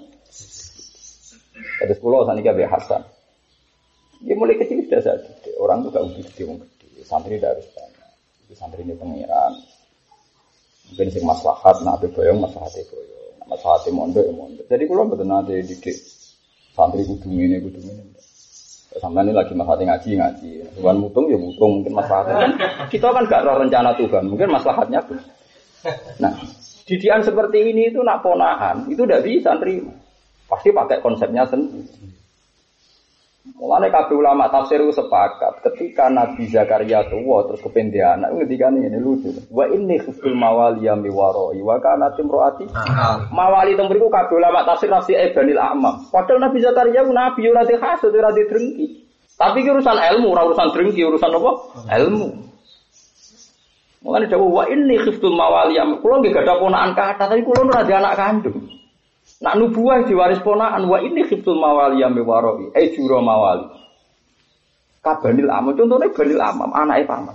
terus kula saniki Abi Hasan. Dia mulai kecil sudah saja. Orang tuh gak udah gede, orang gede. Santri tidak harus banyak. Itu santri ini pengiran. Mungkin sing maslahat, nabi boyong, maslahatnya boyong. Maslahatnya mondok, ya mondok. Jadi kalau betul nanti didik santri kudu ini, kudu ini. Sampai ini lagi maslahatnya ngaji, ngaji. Tuhan mutung, ya mutung. Mungkin maslahatnya kan. Kita kan gak tahu rencana Tuhan. Mungkin maslahatnya pun. Nah, didikan seperti ini itu nak ponakan. Itu tidak bisa terima. Pasti pakai konsepnya sendiri. Mulane kabeh ulama tafsir itu sepakat ketika Nabi Zakaria tua terus kependia anak ngendikane ngene lucu. Wa inni khiftul mawaliya mi warai wa kana timroati. Mawali teng mriku kabeh ulama tafsir nafsi Ibnil A'mam. Padahal Nabi Zakaria ku nabi ora dihasud ora didrengki. Tapi ki urusan ilmu, ora urusan drengki, urusan apa? Ilmu. Mulane dawuh wa inni khiftul mawaliya. Kulo nggih gadah ponakan kathah tapi kulo ora di anak kandung. Nak nubuah diwaris ponakan wa ini khiftul mawali ya mewaroi eh juro mawali kabanil amam contohnya banil amam anaknya paman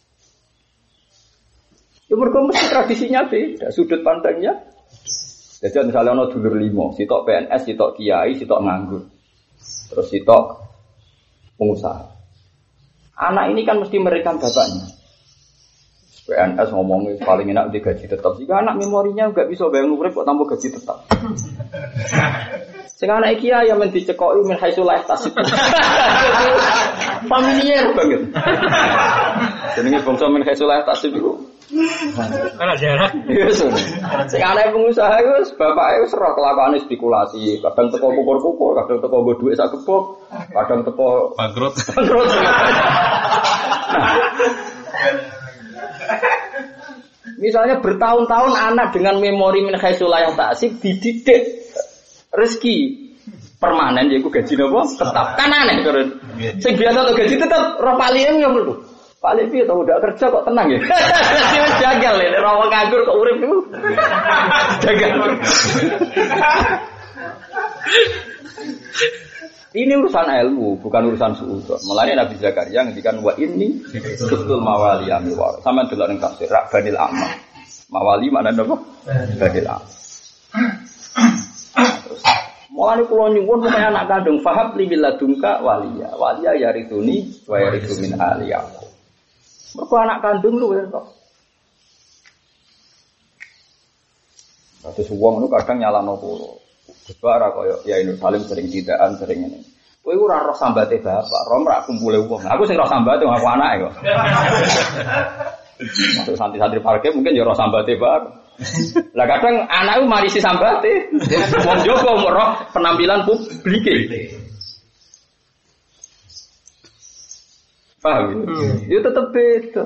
ya mereka mesti tradisinya beda sudut pandangnya jadi misalnya ada dulur limo sitok P N S, sitok kiai, sitok nganggur terus sitok pengusaha anak ini kan mesti merekam bapaknya P N S ngomongnya paling enak di gaji tetap. Jika anak memorinya enggak bisa bayang urip kok tambah gaji tetap. Sing anak iki ya men dicekoki min haitsu la tasib. Familiar banget. Jenenge bangsa min haitsu la tasib iku. Ana jarak. Yes. Sing anak pengusaha iku bapake wis ora kelakuane spekulasi, kadang teko kukur-kukur, kadang teko nggo dhuwit sak kebok, kadang teko bangkrut. Bangkrut. Misalnya bertahun-tahun anak dengan memori min haitsu la tasib dididik rezeki permanen yaiku gaji napa tetap kan aneh terus sing biasa to gaji tetap ora paling ngono lho paling piye to ndak kerja kok tenang ya wis jagal lho ora wong nganggur kok urip iku jagal ini urusan ilmu bukan urusan suudzon mulane Nabi Zakaria ngendikan wa inni khiftul mawali ami wa sampean delok ning tafsir Banil Amma mawali maknane apa Banil Amma mulane kula nyuwun supaya anak kandung fahab li biladunka waliya. Waliya yarithuni wa yarithu min ali aku. Mergo anak kandung lu kok. Terus wong itu kadang nyalano kula. Gebara kaya ya ini saling sering tidaan sering ini. Kowe ora roh sambate bapak, roh ora kumpule wong. Aku sing roh sambate aku anake kok. Untuk santri-santri parke mungkin ya roh sambate bapak. Lah kadang anakku marisi sambate. Wong Joko roh penampilan publike. Paham? Hmm. Ya tetep beda.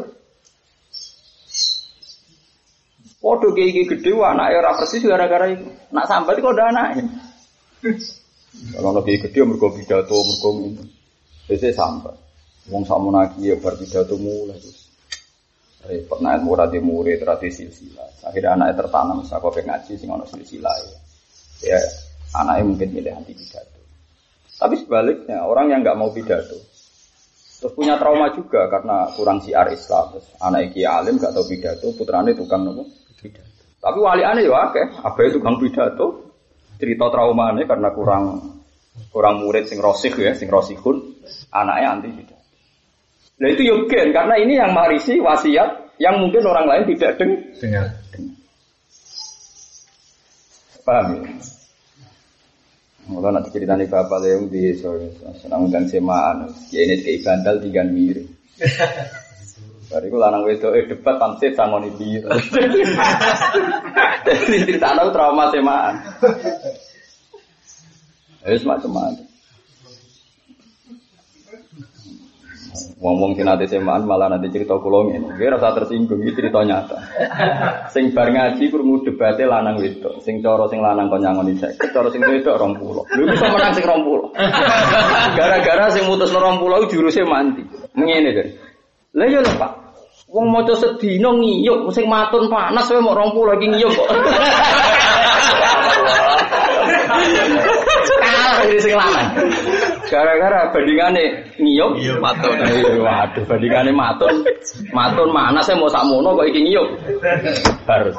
Podo iki gedhe anake ora persis gara-gara iku. Nak sambat kok ndak anake. Kalau lebih gede mergo pidato mergo ngono. Wis sambat. Wong sakmono iki ya bar pidato mulai terus. Repot nek ora di murid ora di silsilah. Akhirnya anake tertanam saka ngaji sing ana silsilah. Ya anake mungkin milih anti pidato. Tapi sebaliknya orang yang enggak mau pidato terus punya trauma juga karena kurang siar Islam. Terus anak iki alim gak tau pidato, putrane tukang nopo? Pidato. Tapi waliane yo akeh, abahe tukang pidato. Cerita traumane karena kurang kurang murid sing rosih ya, sing rosihun, anaknya anti pidato. Nah itu yo gen karena ini yang marisi wasiat yang mungkin orang lain tidak deng dengar. Paham ya? Mula nanti ceritanya bapak yang di sore senang undang semaan, ya ini kayak bandal tiga mirip. Bariku lanang wedok eh debat pansit sangon iki. Jadi cerita tahu trauma semaan. Wis macam-macam. Wong-wong sing nate semaan malah nanti cerita kula ngene. Nggih rasa tersinggung iki cerita nyata. Sing bar ngaji krungu debate lanang wedok. Sing cara sing lanang kon nyangoni seket, cara sing wedok rong puluh. Lho iso menang sing rong puluh. Gara-gara sing mutusno rong puluh juruse mandi. Ngene to. Lah yo lho Pak. Wong maca sedina ngiyuk sing matun panas wae mok rong puluh iki ngiyuk kok. Kalah iki sing lanang. Gara-gara bandingane ngiyuk matun. Waduh, bandingane matun. Matun mana saya mau sakmono kok iki ngiyuk. Harus.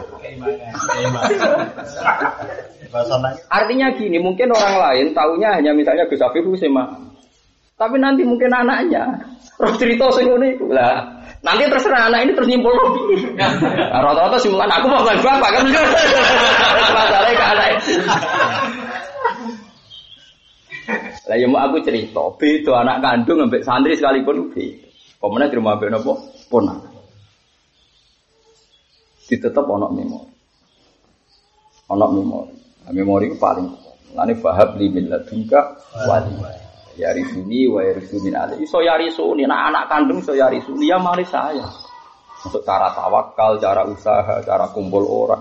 Artinya gini, mungkin orang lain taunya hanya misalnya Gus Afif Husema. Tapi nanti mungkin anaknya roh cerita sing ngene iku. Lah, nanti terserah anak ini terus nyimpul lagi. Nah, rata-rata simpulan aku mau kan bapak kan. Masalahnya ke anak itu. Lah ya mau aku cerita, beda anak kandung ambek santri sekalipun beda. Pemene di rumah ambek napa? Ponak. Ditetep ana memori. Ana memori. Memori ku paling lane bahab li min ladunka wali. Ya risuni wa risuni ali. Iso ya risuni, nah anak kandung iso ya risuni ya mari saya. Untuk cara tawakal, cara usaha, cara kumpul orang.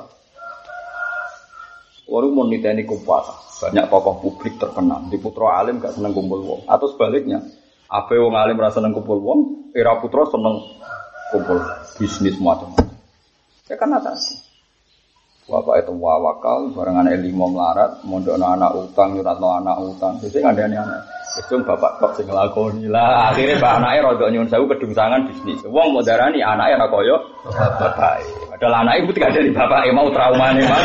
Orang mau niteni kumpul. Banyak tokoh publik terkenal. Di putra alim gak seneng kumpul wong. Atau sebaliknya, ape wong alim rasa seneng kumpul wong, era putra seneng kumpul bisnis macam-macam. Ya kan atas. Bapak itu wawakal, bareng anak lima melarat, mondok anak utang, nyuratno anak utang. Jadi ngandani anak. Wis bapak kok sing nglakoni lah. Akhire mbak anake rodok nyuwun sewu kedungsangan bisnis. Wong mau darani anake ora kaya bapak. Padahal anake iku tidak dari bapake mau traumane mah.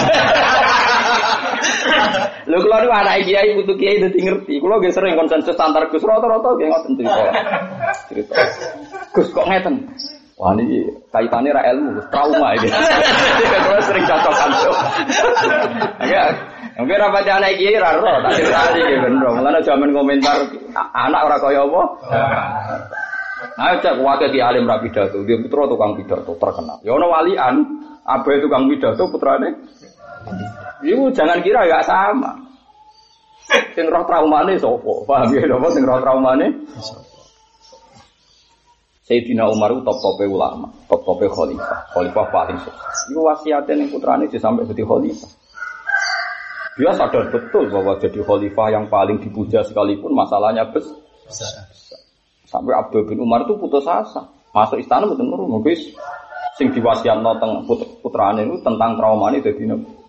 Lho kula niku anake kiai putu kiai dadi ngerti. Kula nggih sering konsensus antar Gus rata-rata nggih ngoten cerita. Cerita. Gus kok ngeten. Wah niki kaitane ra ilmu, trauma iki. Kula sering cocok-cocok. Agak mungkin apa anak kiai ra ro, tak cerita iki bener. Mulane jaman komentar anak ora kaya apa. Ayo cek wae di alim ra pidato, dia putra tukang pidato terkenal. Ya ono walian, abahe tukang pidato putrane. Iku jangan kira enggak sama. Sing roh traumane sapa? Paham ya napa sing roh traumane? Sayyidina Umar itu top-tope ulama, top-tope khalifah, khalifah paling sukses. Iku wasiate ning putrane sampai jadi khalifah. Dia sadar betul bahwa jadi khalifah yang paling dipuja sekalipun masalahnya besar. Sampai Abdul bin Umar itu putus asa. Masuk istana mboten nurun, guys. Sing diwasiatno teng putrane itu tentang traumane dadi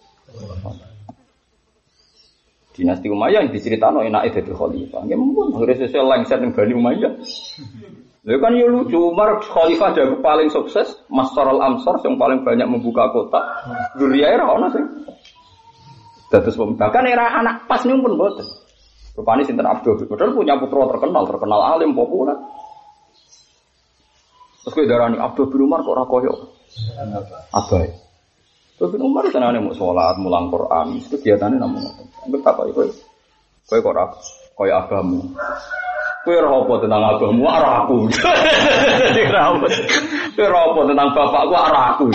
Dinasti Umayyah yang diceritakno enake dadi khalifah. Nggih mumpun akhire sesuk lengser ning Bani Umayyah. Lha kan yo lucu, Umar khalifah jago paling sukses, Masarul Amsar yang paling banyak membuka kota. Zuriyae ra ono sing dados bahkan era anak pas nih pun boten. Rupane sinten Abdul Qadir punya putra terkenal, terkenal alim populer. Terus kowe darani Abdul bin Umar kok ora koyo abahe. Abdul bin Umar senane mau salat, mulang Quran, kegiatane namung ngoten. Betapa iku. Kowe kok ora kaya agamu. Kowe ora apa tentang agamu, ora aku. Ora apa. Kowe ora apa tentang bapakku, ora aku.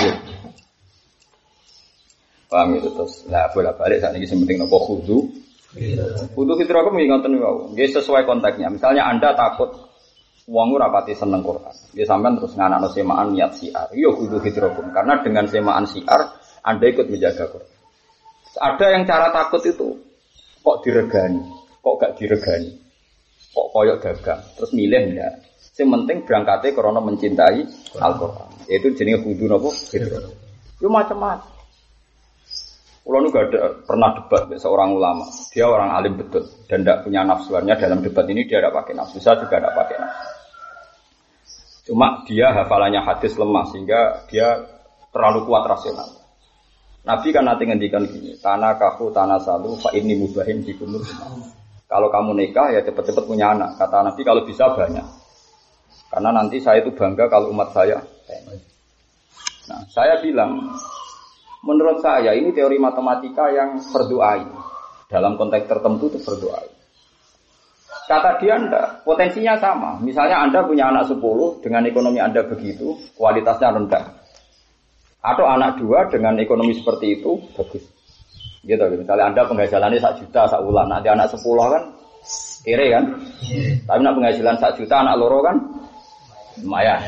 Paham itu terus. Lah bolak-balik sakniki sing penting napa khudu. Khudu fitrah aku ngoten wae. Nggih sesuai konteksnya. Misalnya Anda takut wong ora pati seneng Quran. Nggih sampean terus nganakno semaan niat siar. Yo khudu fitrah karena dengan semaan siar Anda ikut menjaga Quran. Ada yang cara takut itu kok diregani, kok gak diregani, kok koyok dagang, terus milih enggak. Yang penting berangkatnya karena mencintai Al-Quran. Itu jenis khudu nopo fitrah. Yo macam-macam. Kulo nu gak ada pernah debat dengan seorang ulama. Dia orang alim betul dan tidak punya nafsuannya dalam debat ini dia tidak pakai nafsu. Saya juga tidak pakai nafsu. Cuma dia hafalannya hadis lemah sehingga dia terlalu kuat rasional. Nabi kan nanti ngendikan gini, tanah kafu tanah salu fa ini mubahin di kumur. Kalau kamu nikah ya cepat-cepat punya anak. Kata Nabi kalau bisa banyak. Karena nanti saya itu bangga kalau umat saya. Nah, saya bilang menurut saya ini teori matematika yang berdoai. Dalam konteks tertentu itu berdoai. Kata dia enggak, potensinya sama. Misalnya Anda punya anak sepuluh dengan ekonomi Anda begitu, kualitasnya rendah. Atau anak dua dengan ekonomi seperti itu bagus. Gitu, misalnya Anda penghasilannya satu juta sak bulan, nanti anak sepuluh kan kere kan. Tapi nak penghasilan satu juta anak loro kan lumayan.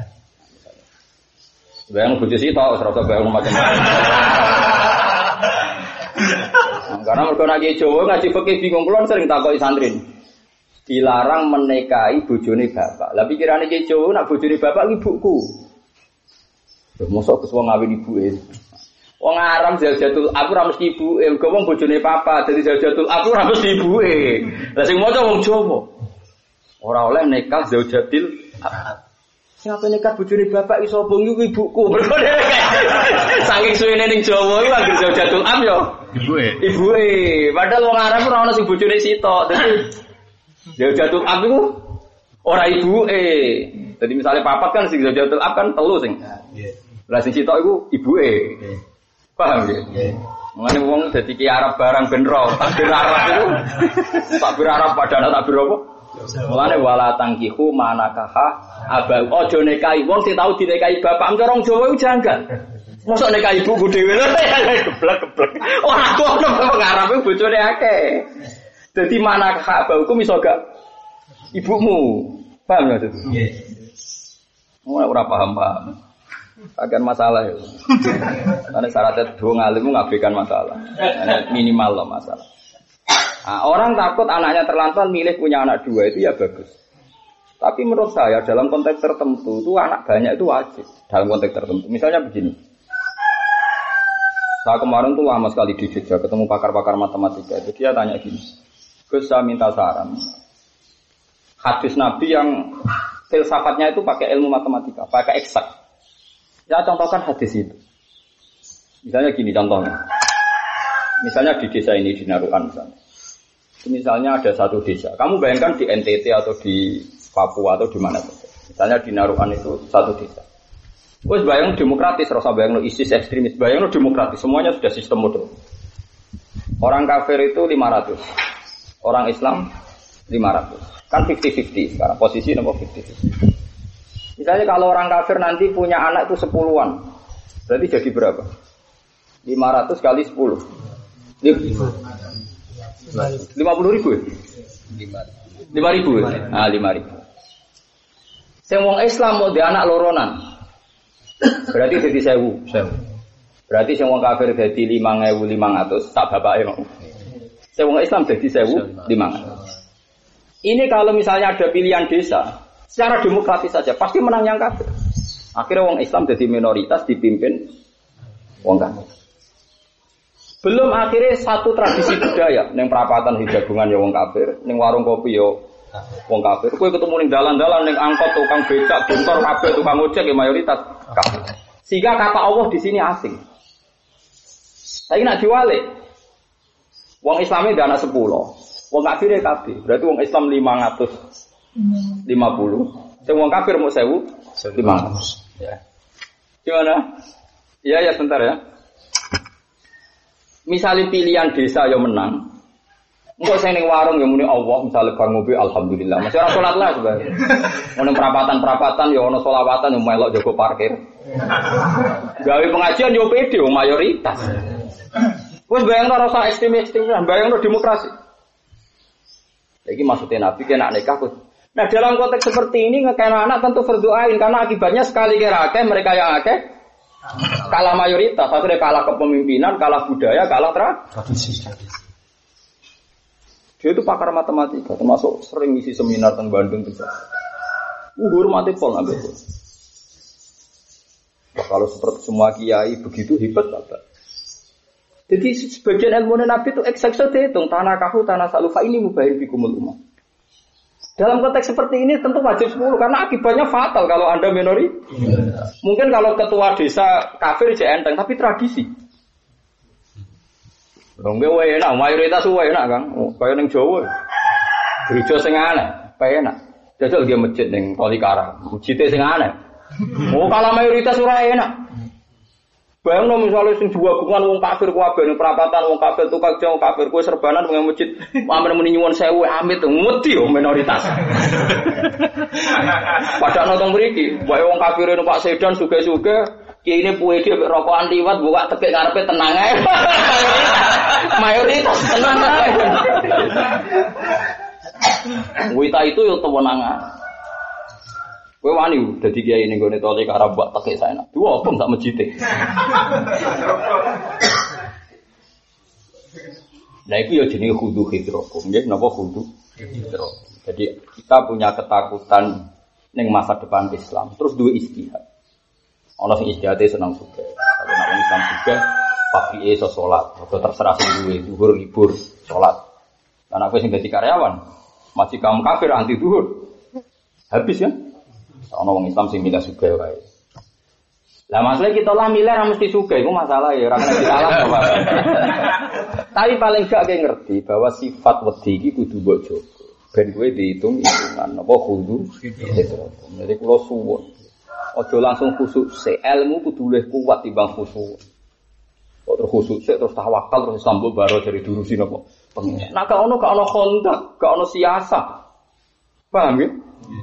Bayang bojo sitok serasa bayang macam-macam. Karena mergo nak Jawa ngaji fikih bingung kula sering takoki santri. Dilarang menikahi bojone bapak. Lah pikirane ki Jawa nak bojone bapak ibuku. Lho mosok wis wong ngawin ibuke. Wong aram Zaujatul aku ora mesti ibuke, mergo wong bojone papa dadi Zaujatul aku ora mesti ibuke. Lah sing maca wong Jawa. Ora oleh nikah Zaujatil sing ape nikah bojone bapak iso bong iku ibuku. Mergo saking suwene ning Jawa iku anggere Zaujatul am yo ibuke. Ibuke. Padahal wong aram ora ono sing bojone sitok. Dadi Zaujatul am iku ora ibuke. Jadi misalnya papat kan sing Zaujatul am kan telu sing. Nggih. Lah sing sitok iku ibuke. Nggih. Paham nggih? Nggih. Mengene wong dadi ki Arab barang ben ro, takbir Arab itu. Takbir Arab padahal takbir apa? Mulane wala tangkihu manakaha abang aja nikahi wong sing tau dinikahi bapak cara wong Jawa iku janggal. Mosok nikahi ibuku dhewe lho geblek-geblek. Ora ono wong Arab iku bojone akeh. Dadi manakaha abangku iso gak ibumu. Paham ya itu? Nggih. Ora paham-paham. Akan masalah ya. Karena syaratnya dua ngalim ngabaikan masalah. Karena minimal loh masalah. Nah, orang takut anaknya terlantar milih punya anak dua itu ya bagus. Tapi menurut saya dalam konteks tertentu itu anak banyak itu wajib. Dalam konteks tertentu. Misalnya begini. Saya kemarin tuh lama sekali di Jogja ketemu pakar-pakar matematika. Itu dia tanya gini. Gus saya minta saran. Hadis Nabi yang filsafatnya itu pakai ilmu matematika, pakai eksak. Ya contohkan hadis itu. Misalnya gini contohnya. Misalnya di desa ini di Narukan misalnya. Misalnya ada satu desa. Kamu bayangkan di N T T atau di Papua atau di mana saja. Misalnya di Narukan itu satu desa. Wes bayang demokratis, rasa bayang lo ISIS ekstremis, bayang lo demokratis. Semuanya sudah sistem model. Orang kafir itu lima ratus. Orang Islam lima ratus. Kan lima puluh lima puluh sekarang. Posisi nomor lima puluh lima puluh. Misalnya kalau orang kafir nanti punya anak itu sepuluhan, berarti jadi berapa? lima ratus kali sepuluh. lima puluh ribu ya? lima ribu ya? Ah, lima ribu. Yang orang Islam mau di anak loronan, berarti jadi sewu. Berarti yang orang kafir jadi lima ribu lima ratus, tak bapaknya mau. Yang orang Islam jadi sewu lima ratus. Ini kalau misalnya ada pilihan desa, secara demokratis saja pasti menang yang kafir. Akhirnya wong Islam jadi minoritas dipimpin wong kafir. Belum akhirnya satu tradisi budaya, neng perapatan hijagungan ya wong kafir, neng warung kopi ya wong kafir. Kowe ketemu neng dalan-dalan neng angkot tukang becak, bentor kabeh tukang ojek ya mayoritas kafir. Sehingga kata Allah di sini asing. Tapi nak diwalik, wong Islamnya ada anak sepuluh, wong kafirnya kafir. Berarti wong Islam lima ratus lima puluh, semua kafir mau sewu lima ratus. Ya. Gimana? Ya ya sebentar ya. Misalnya pilihan desa yang menang, Engko sing ning warung ya muni Allah, misale bar ngopi alhamdulillah. Masih ora salat lah sebenarnya. Ono perapatan-perapatan ya ono selawatan yo melok jago parkir. Gawe pengajian yo pede mayoritas. Wes bayangno rasa ekstrem-ekstrem, bayangno demokrasi. Iki maksudnya Nabi kena nikah. Nah dalam konteks seperti ini ngekena anak tentu berdoain karena akibatnya sekali kira akeh mereka yang akeh kalah mayoritas, akhirnya kalah kepemimpinan, kalah budaya, kalah tradisi. Dia itu pakar matematika, termasuk sering ngisi seminar tentang Bandung juga. Uhur mati pol ngambil. Kalau seperti semua kiai begitu hebat bapak. Jadi sebagian ilmu Nabi itu eksakso dihitung tanah kahu tanah salufa ini mubahin bikumul umat. Dalam konteks seperti ini tentu wajib sepuluh karena akibatnya fatal kalau Anda minori. Ya. Mungkin kalau ketua desa kafir jadi enteng tapi tradisi. Wong wae enak, mayoritas wae enak, Kang. Oh, kaya ning Jawa. Gereja sing aneh, pae enak. Jajal ge masjid ning Tolikara, masjid sing aneh. Oh, kalau mayoritas ora enak. Bayangno misale sing diwagungan wong kafir kabeh ning perapatan wong kafir tukang jauh kafir kowe serbanan ning masjid, amen muni nyuwun sewu amit ngedi yo minoritas. Padahal nonton mriki, wae wong kafir numpak sedan suge-suge kiai ini puwe dia rokokan liwat buka tekek ngarepe tenang ae. Mayoritas tenang ae. Wita itu yo tewenangan. Kowe wani dadi kiai ning gone tole karo buat tekek saenak. Dua opong sak mejite. Nah itu ya jenenge khudu hidrokum, nggih napa khudu hidro. Jadi kita punya ketakutan ning masa depan Islam, terus duwe istihad. Ana sing istihate seneng juga. Kalau nek Islam juga pagi iso salat, atau terserah sing duwe zuhur libur salat. Lan aku sing dadi karyawan, masih kaum kafir anti zuhur. Habis ya. Ana wong Islam sing milih juga wae. Lah masalah kita lah milih ra mesti suka, itu masalah ya, ora kena disalah apa. Tapi paling gak kayak ngerti bahwa sifat wedi iki kudu mbok jaga. Ben kowe dihitung hitungan apa kudu. Jadi kula suwun. Aja langsung khusuk se ilmu kudu luwih kuat timbang khusuk. Kok terus khusuk se terus tawakal terus sambung baro dari durusi napa pengen. Nah gak ono gak ono kontak, gak ono siasat. Paham ya?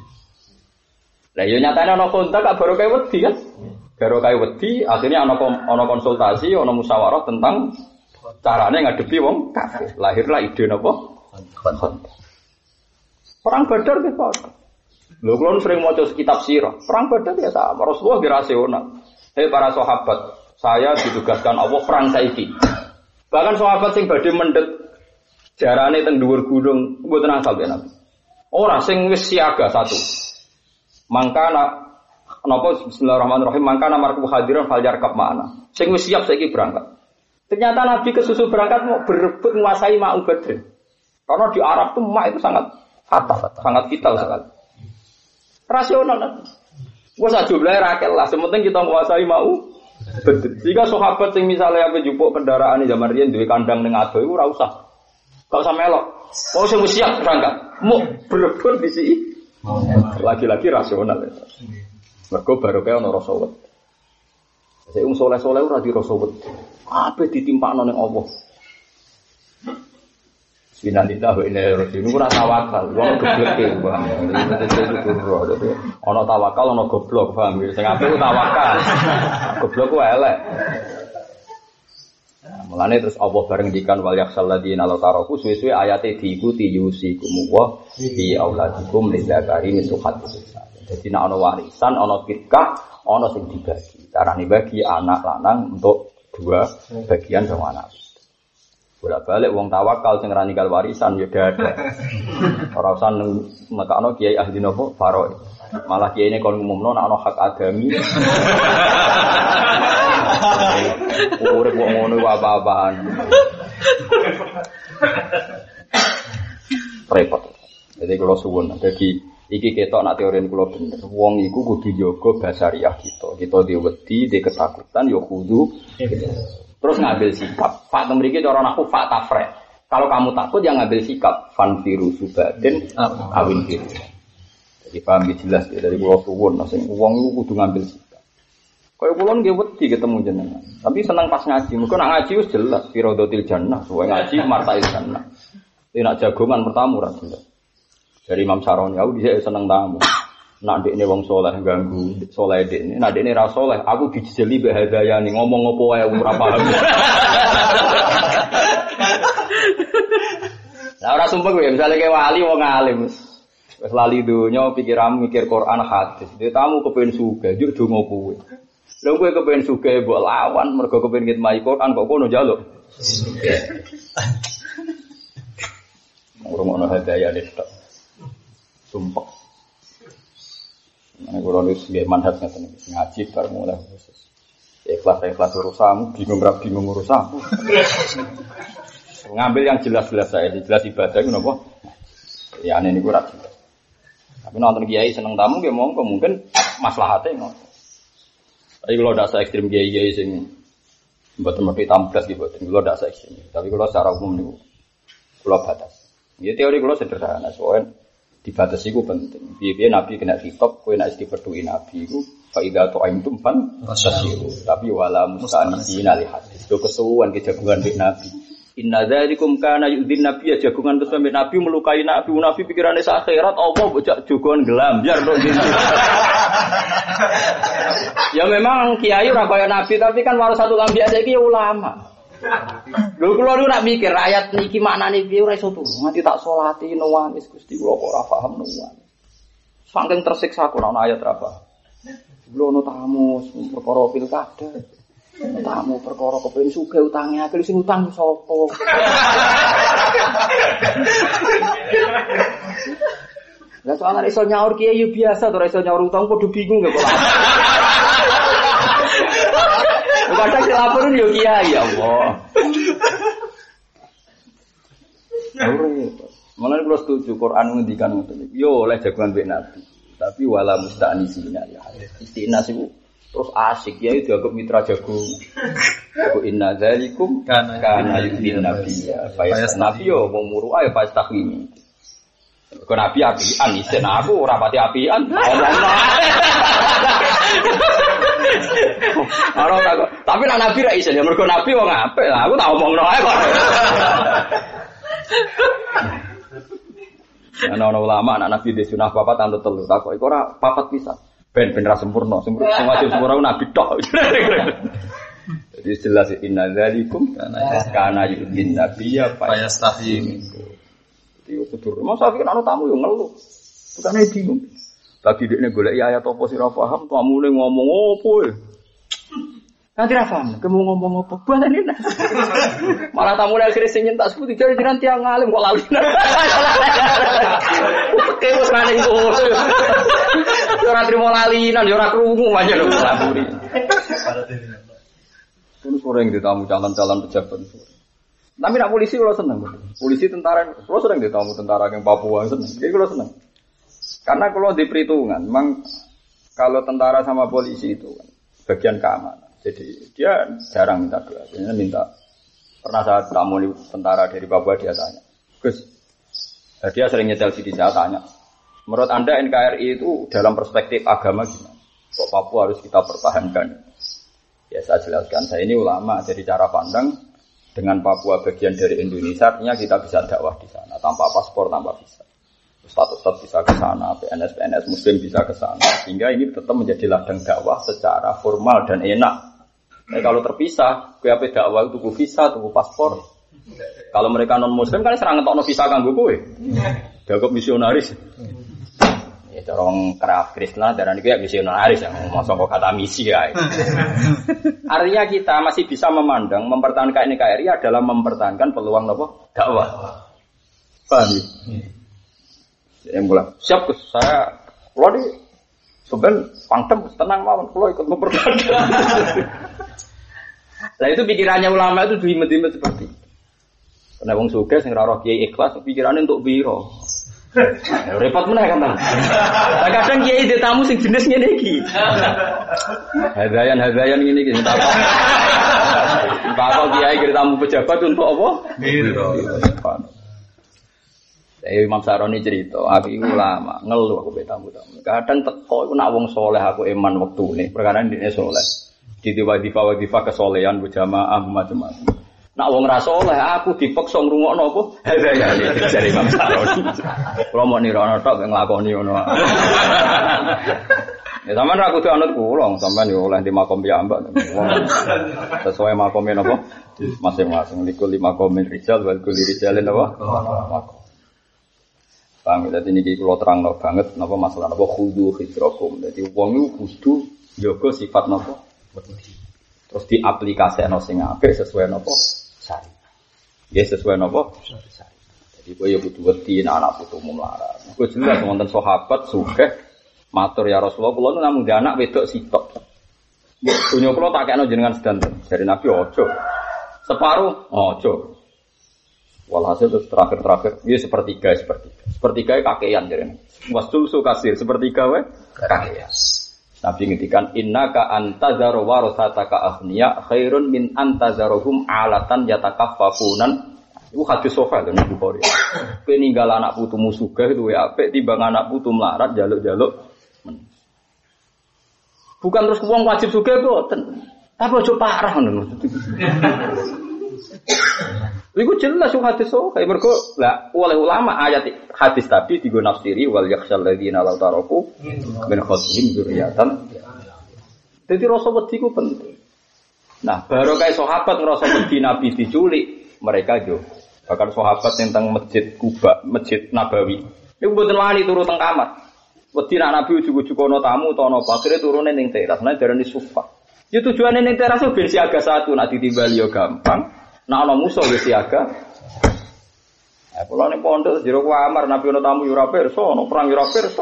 Lah yo nyatane ono kontak gak baru kayak wedi kan? Baru kayak wedi akhirnya ono ono konsultasi, ono musyawarah tentang carane ngadepi wong kafir. Lahirlah ide napa? Kontak. Perang Badar ki Pak. Lho kula sering maca kitab sirah. Perang Badar ya sama. Rasulullah ki rasional. Hei para sahabat, saya ditugaskan Allah perang saiki. Bahkan sahabat sing badhe mendhet jarane teng dhuwur gunung mboten asal ya Nabi. Ora sing wis siaga satu. Mangkana napa bismillahirrahmanirrahim mangkana marku hadiran faljarkab ma'ana. Sing wis siap saiki berangkat. Ternyata Nabi kesusu berangkat mau berebut menguasai Ma'u Badr. Karena di Arab tuh Ma itu sangat fatal, sangat vital sekali. Rasional. Wes aja jumlahe rakel lah, sementing kita menguasai Ma'u Badr. Jika sahabat sing misalnya ape jupuk kendaraan zaman riyen duwe kandang ning ado iku ora usah. Gak usah melok. Wong sing wis siap berangkat, mau berebut disi. Lagi-lagi rasional. Mergo barokah ana rasa wedi. Sing wong saleh-saleh ora di rasa wedi. Ape ditimpakno ning Allah. Bismillah wa inna ilaihi raji'un. Ora tawakal, wong gebleke, Bang. Ana tawakal, ana goblok, Bang. Sing apik tawakal. Goblok ku elek. Mulane terus Allah bareng ngendikan wal yakhsal ladina la taraku suwe-suwe ayate diikuti yusikum wa bi auladikum lidzakari mithlu hadzil. Jadi nek ana warisan, ana firqah, ana sing dibagi. Carane bagi anak lanang untuk dua bagian sama anak. Bolak-balik wong tawakal sing ra ninggal warisan ya ada. Ora usah nekakno kiai ahli nopo faro. Malah kiai ini kon ngumumno nek ana hak agami. Urip kok ngono apa-apaan. Repot. Jadi kalau suwun jadi iki ketok nak teori kula bener. Wong iku kudu jaga basariah kita. Kita diwedi, di ketakutan ya kudu. Terus ngambil sikap. Pak mriki cara aku fak tafre. Kalau kamu takut ya ngambil sikap fan virus subadin awin virus. Jadi paham jelas ya dari kula suwun sing wong iku kudu ngambil sikap. Kaya kula nggih wedi ketemu jenengan. Tapi seneng pas ngaji. Mergo nak ngaji wis jelas firadatil jannah, suwe ngaji martail jannah. Nak jagongan pertama ora gelem. Dari Imam Saroni aku dhisik seneng tamu. Nak ndekne wong saleh ganggu, saleh ndekne. Nak ndekne ra saleh, aku dijeli mbek hadayane ngomong apa wae ora paham. Lah ora sumpah kowe misale ke wali wong alim. Wis lali donya pikiranmu mikir Quran hadis. Dia tamu kepengin sugih, njuk donga kowe. Lha kowe kepengin sugih mbok lawan mergo kepengin ngitmai Quran kok kono njaluk. Sugih. Ngurung-ngurung hadayane tok. Sumpah. Nek ora wis nggih manhaj ngaten iki ngaji bar mulai khusus. Ikhlas-ikhlas urusanmu, bingung ra bingung urusanmu. Ngambil yang jelas-jelas saya, jelas ibadah itu napa? Ya ane niku ra jelas. Tapi nonton kiai seneng tamu nggih monggo mungkin maslahate ngono. Tapi kalau ndak se ekstrem kiai-kiai sing mboten mesti tamplas nggih mboten. Kalau ndak se ekstrem. Tapi kalau secara umum niku kula batas. Ya teori kula sederhana, soalnya dibatasi ku penting. Piye-piye Nabi kena kitab, kowe nek dipethuki Nabi iku fa idza ta'imtum fan fasyiru. Tapi wala musta'nisina li hadis. Yo kesuwen ke jagungan mek Nabi. Inna dzalikum kana yu'dhin nabiyya jagungan terus sampe Nabi melukai Nabi, Nabi pikirane sak akhirat apa bocah jagongan gelambyar tok ngene. Ya memang kiai ora kaya Nabi, tapi kan warasatul anbiya saiki ya ulama. Lho kula niku nak mikir ayat niki maknane piye ora iso turu. Nganti tak salati nuwangis Gusti kula kok ora paham nuwangis. Saking tersiksa kok ana ayat ra paham. Kula ono tamu perkara pilkada. Tamu perkara kepengin sugih utange akeh sing utang sapa. Lah soal iso nyaur kiai yo biasa to ora iso nyaur utang padha bingung kok. Kadang dilaporin yo kiai ya Allah. Malah kalau setuju Quran ngendikan ngoten iki. Yo oleh jagoan mbek Nabi. Tapi wala musta'nisina ya. Istinas iku terus asik ya dianggap mitra jago. Ku inna dzalikum kana yudin nabiyya. Fayas nabi yo wong muru ae pas takwimi. Kok nabi apian isen aku ora pati apian. Omongno. Ora tak. Tapi nek nabi ra isen ya mergo nabi wong apik lah. Aku tak omongno ae kok. Ana ulama anak nabi di sunah papat anut telu takok iku ora papat pisan. Ben ben ra sempurna, sempurna sing wajib sempurna nabi tok. Jadi jelas inna dzalikum kana yudin nabiyya fayastahi. Iki kudu. Masa iki ana tamu yo ngeluh. Tukane bingung. Bagi dekne goleki ayat apa sing ora paham, tamune ngomong opo e. Nanti ra paham, kemu ngomong apa? Balane. Malah tamune akhire sing nyentak seputi jare jenengan tiyang alim kok lali. Oke wis maning ngono. Yo ora trimo lalinan, yo ora krungu aja lho laburi. Terus orang ditamu calon-calon pejabat. Tapi nak polisi kalau seneng, polisi tentara, kalau sering ditamu tentara yang Papua seneng, jadi kalau seneng. Karena kalau di perhitungan, memang kalau tentara sama polisi itu kan bagian keamanan. Jadi dia jarang minta doa, biasanya minta. Pernah saat tamu tentara dari Papua dia tanya, Gus, dia sering nyetel sini saya tanya, menurut Anda N K R I itu dalam perspektif agama gimana? Kok Papua harus kita pertahankan? Ya saya jelaskan, saya ini ulama, jadi cara pandang dengan Papua bagian dari Indonesia, artinya kita bisa dakwah di sana tanpa paspor, tanpa visa. Status-status bisa ke sana, P N S P N S Muslim bisa ke sana, sehingga ini tetap menjadi ladang dakwah secara formal dan enak. Nah, kalau terpisah, K P dakwah itu tunggu visa, tunggu paspor. Kalau mereka non Muslim kan serang ngetokno visa kanggo kowe. Dianggap misionaris. Ya orang kerap Kristen darane kayak misionaris yang mosok kok kata misi ya. Artinya kita masih bisa memandang mempertahankan N K R I adalah mempertahankan peluang apa? Dakwah. Paham ya? Saya bilang, siap Gus, saya kalau di sebenarnya pangdam tenang mawon, kalau ikut mempertahankan. Nah itu pikirannya ulama itu diimet-imet seperti itu. Karena wong sugih sing ora roh kiai ikhlas pikirannya untuk biro. Repot meneh kan. Lah kadang kiai di tamu sing jenis ngene iki. Hadayan-hadayan ngene iki tak apa. Bapak kiai kira tamu pejabat untuk apa? Biro. Saya Imam Saroni cerita, aku iku ulama, ngeluh aku be tamu-tamu. Kadang teko iku nak wong saleh aku iman wektune, perkara ndekne saleh. Di wadifah-wadifah kesolehan berjamaah macam-macam. Nak wong ra saleh aku dipeksa ngrungokno apa? Ya jare Imam Saroni. Kulo mau nirono tok nglakoni ngono. Ya sampean ra kudu anut kula, sampean yo oleh di makom piyambak. Sesuai makome napa? Masing-masing likul lima komen rijal wal kulli rijalin napa? Makom. Paham ya, dadi niki kula terangno banget napa masalah napa khudu hidrakum. Dadi wong iku kudu njaga sifat napa? Terus diaplikasekno sing apik sesuai napa? Syariat. Ya sesuai napa? Syariat. Jadi kowe yo kudu wedi anak putumu melarat. Kowe jelas wonten sahabat sugih matur ya Rasulullah, kula nu namung anak wedok sitok. Dunya kula tak kekno jenengan sedanten. Dari Nabi ojo. Separuh ojo. Walhasil terus terakhir-terakhir, ya sepertiga, sepertiga. Sepertiga kakean jarene. Wastul su kasir, sepertiga wae kakean. Nabi ngendikan innaka antazaru warasataka aghniya khairun min antazaruhum alatan yatakaffafunan. Iku hadis sahih lho Bukhari. Kowe ninggal anak putumu sugih duwe apik timbang anak putu melarat jaluk-jaluk. Bukan terus wong wajib sugih boten. Tapi aja parah ngono. Iku jelas hadis sahih mergo lah oleh ulama ayat hadis tadi digo nafsiri wal yakhshal ladzina law taraku min khatihim dzurriatan. Dadi rasa wedi ku penting. Nah, baru kayak sahabat ngerasa wedi Nabi diculik, mereka jo. Bahkan sahabat tentang masjid Kuba, masjid Nabawi. Iku mboten wani turu teng kamar. Wedi nak Nabi ujug-ujug ana tamu utawa apa, akhire turune ning teras, nek darani sufa. Ya tujuane ning teras ben siaga satu, nak ditimbali yo gampang. Nak ana musuh wis siaga. Eh kula ning pondok jero kamar Nabi ana tamu yo ora pirsa, ana perang yo ora pirsa.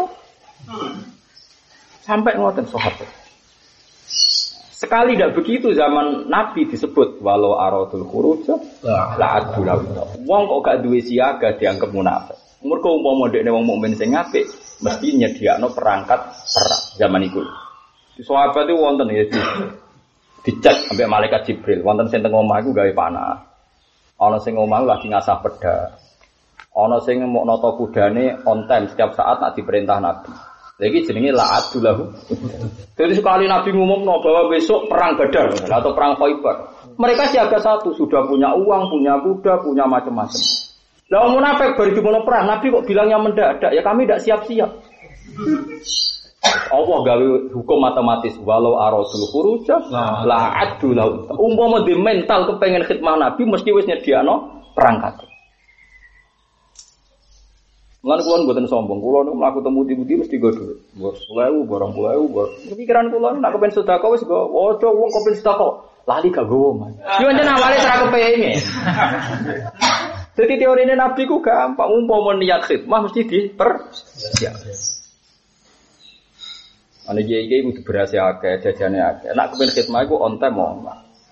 Sampai ngoten sahabat. Sekali tidak begitu zaman Nabi disebut walau aradul khuruj la adula. Wong kok gak duwe siaga dianggap munafik. Mergo umpama dekne wong mukmin sing apik mesti nyediakno perangkat perang zaman iku. Di sahabat itu wonten ya dicek sampai malaikat Jibril, wonten sing teng omah iku gawe panah. Ana sing omah lagi ngasah pedha. Ana sing mok nata kudane on time setiap saat nak diperintah Nabi. Lagi jenenge la'adulahu. Jadi sekali Nabi ngumumno bahwa besok perang Badar atau perang Khaibar. Mereka siaga satu, sudah punya uang, punya kuda, punya macam-macam. Lah munafik baru dimono perang, Nabi kok bilangnya mendadak, ya kami tidak siap-siap. Allah gawe hukum matematis walau aradul khuruj la'adulahu. Umpama di mental kepengen khidmah Nabi mesti wis nyediakno perangkat. Lan kula mboten sombong, kula niku mlaku temu di-di mesti go dhuwit. Bos sepuluh ribu, barang sepuluh ribu, bar. Pikiran kula nek kepen sedekah wis go, ojo wong kepen sedekah. Lali gak gowo, Mas. Yo njen awale ora kepengin. Dadi teorine Nabi ku gampang, umpama niat khidmah mesti dipersiap. Ana iki kudu berhasil akeh, jajane akeh. Nek kepen khidmah iku on time omah.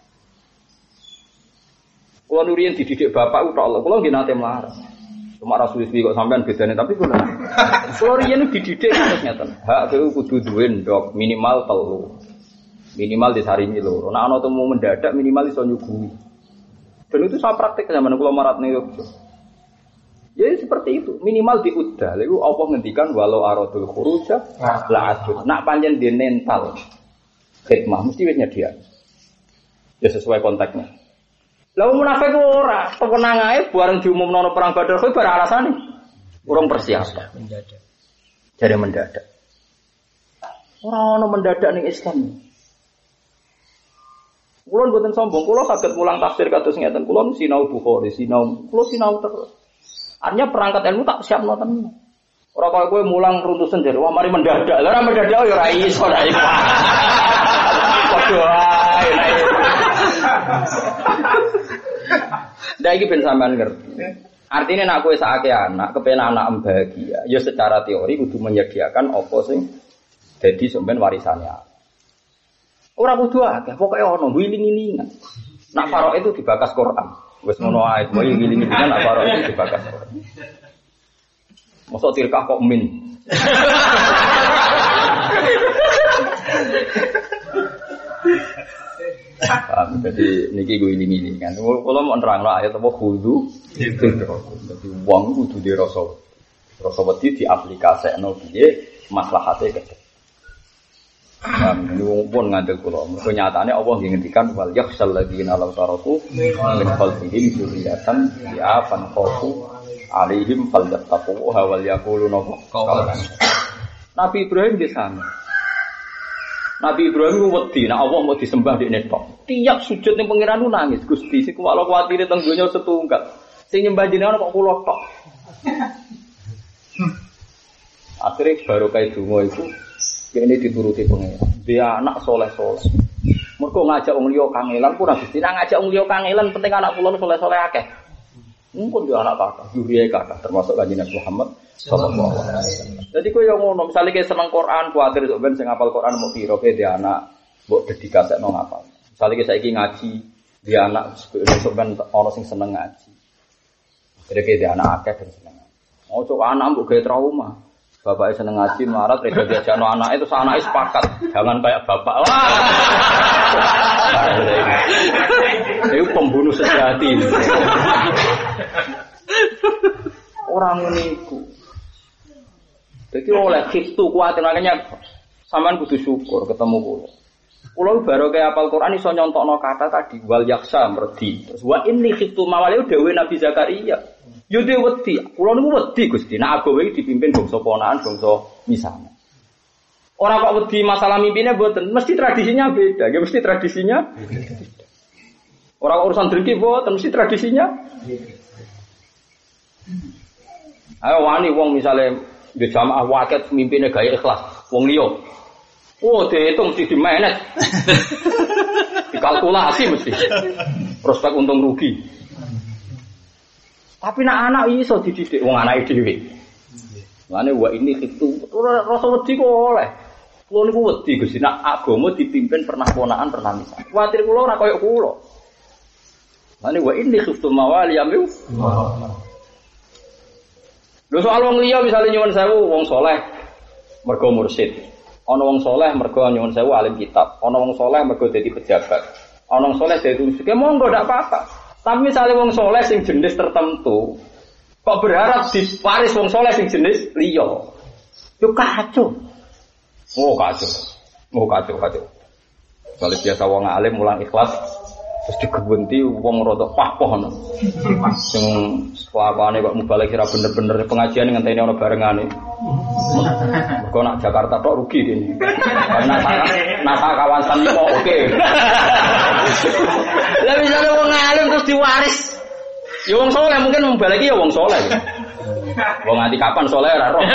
Kula nuriyen dididik bapak ku tok Allah, kula nggih nate mlarat. Cuma rasul-rasul kok sampean bedane tapi kula. Kula riyen dididik terus ngeten. Hak kowe kudu duwe ndok minimal telu. Minimal disarimi loro. Nek ana temu mendadak minimal iso nyuguhi. Dan itu saya praktek zaman kula marat ning Yogyakarta. Ya seperti itu, minimal diudah. Lalu Allah ngendikan walau aradul khuruj la ajud. Nak pancen di mental khidmah mesti wis nyedia. Ya sesuai konteksnya. Lah munafik ora, tenang ae bareng diumumno perang Badar kuwi bar alasane. Urung persiapan mendadak. Jare mendadak. Ora ono mendadak ning Islam. Kula mboten sombong, kula saged mulang tafsir kados ngeten. Kula sinau Bukhari, sinau, kula sinau terus. Artinya perangkat ilmu tak siapno tenan. Ora kaya kowe mulang runtusen jare, wah mari mendadak. Lah ora mendadak ya ora iso ra iso. Padha ae nek. Ndak iki ben sampean ngerti. Artinya nek kowe sakake anak, kepen anak bahagia, ya secara teori kudu menyediakan apa sing dadi sampean warisane. Ora kudu akeh, pokoke ono wiling-wilingan. Nak farok itu dibakas Quran. Wis ngono ae, kowe wiling-wilingan nak farok itu dibakas Quran. Mosok tilkah kok min. Paham, jadi niki gue ini kan. Kalau mau nerangno ayat apa khudu, jadi uang kudu dirasa, rasa wedi diaplikasekno piye maslahate kedhe. Nah, ini wong pun ngandel kula. Mergo nyatane Allah ngendikan wal yakhsal ladzina law taraku min khalfihim dzurriyyatan ya'afan khafu alaihim falyattaqu wa wal yaquluna qawlan. Nabi Ibrahim di sana. Nabi Ibrahim wedi nek Allah mau disembah dekne tok. Tiap sujud ning pangeran nangis, Gusti, sik kula kuwatire teng donya setunggal. Sing nyembah jenengan kok kula tok. Akhirnya baru kayak dungo itu ini dituruti pengeran. Dia anak soleh-soleh. Mereka ngajak wong liya kangelan pun habis. Tidak ngajak wong liya kangelan, penting anak kula soleh-soleh akeh. Mungkin dia anak kakak, juriye kakak, termasuk kanjeng Nabi Muhammad sallallahu alaihi wasallam. Jadi kowe yo ngono, misale kowe seneng Quran, kuwatir sok ben sing hafal Quran mau piro kowe dia anak mbok dedikasekno ngapal. Misale kowe saiki ngaji, dia anak sok ben ana sing seneng ngaji. Jadi kowe dia anak akeh ben seneng. Ojo anak mbok gawe trauma. Bapaknya seneng ngaji, melarat, reda diajakno anaknya, itu anaknya sepakat. Jangan kayak bapak. Wah! Itu pembunuh sejati. Orang niku. Jadi oleh khiftu kuatir, makanya sampean kudu syukur ketemu kula. Kula baru kayak apal Quran iso nyontokno kata tadi wal yaksa merdi. Terus wa inni khiftu mawali dawuh Nabi Zakaria. Yo dhewe wedi, kula niku wedi Gusti. Nek agawe iki dipimpin bangsa ponakan, bangsa misane. Ora kok wedi masalah mimpine mboten, mesti tradisinya beda. Ya mesti tradisinya beda. Ora kok urusan drengki mboten, mesti tradisinya beda. Ayo wani wong misale di jamaah waket mimpine gawe ikhlas, wong liya. Oh, dihitung mesti di-manage. Dikalkulasi mesti. Prospek untung rugi. Tapi nak anak iso dididik wong anake dhewe. Mane wa ini itu rasa wedi kok oleh. Kulo niku wedi Gusti nak agama dipimpin pernah ponakan pernah misal. Kuwatir kula ora kaya kula. Mane wa ini khiftu mawali yamu. Lho soal wong liya misale nyuwun sewu wong saleh mergo mursyid. Ana wong saleh mergo nyuwun sewu alim kitab. Ana wong saleh mergo dadi pejabat. Ana wong saleh dadi musuh. Monggo ndak apa-apa. Tapi misalnya wong soleh sing jenis tertentu, kok berharap diparis wong soleh sing jenis liya, itu kacau. Oh kacau, oh kacau kacau. Kalau biasa wong alim mulang ikhlas, terus digebunti wong rodok pah-poh. Sing kelakuane kok mubalik kira bener-bener pengajian ngenteni ana barengane. Mergo nak Jakarta tok rugi dene. Karena nasa kawasan kok oke. Lah misale wong alim terus diwaris. Ya wong saleh mungkin membaliki ya wong saleh. Wong nganti kapan saleh ora roh.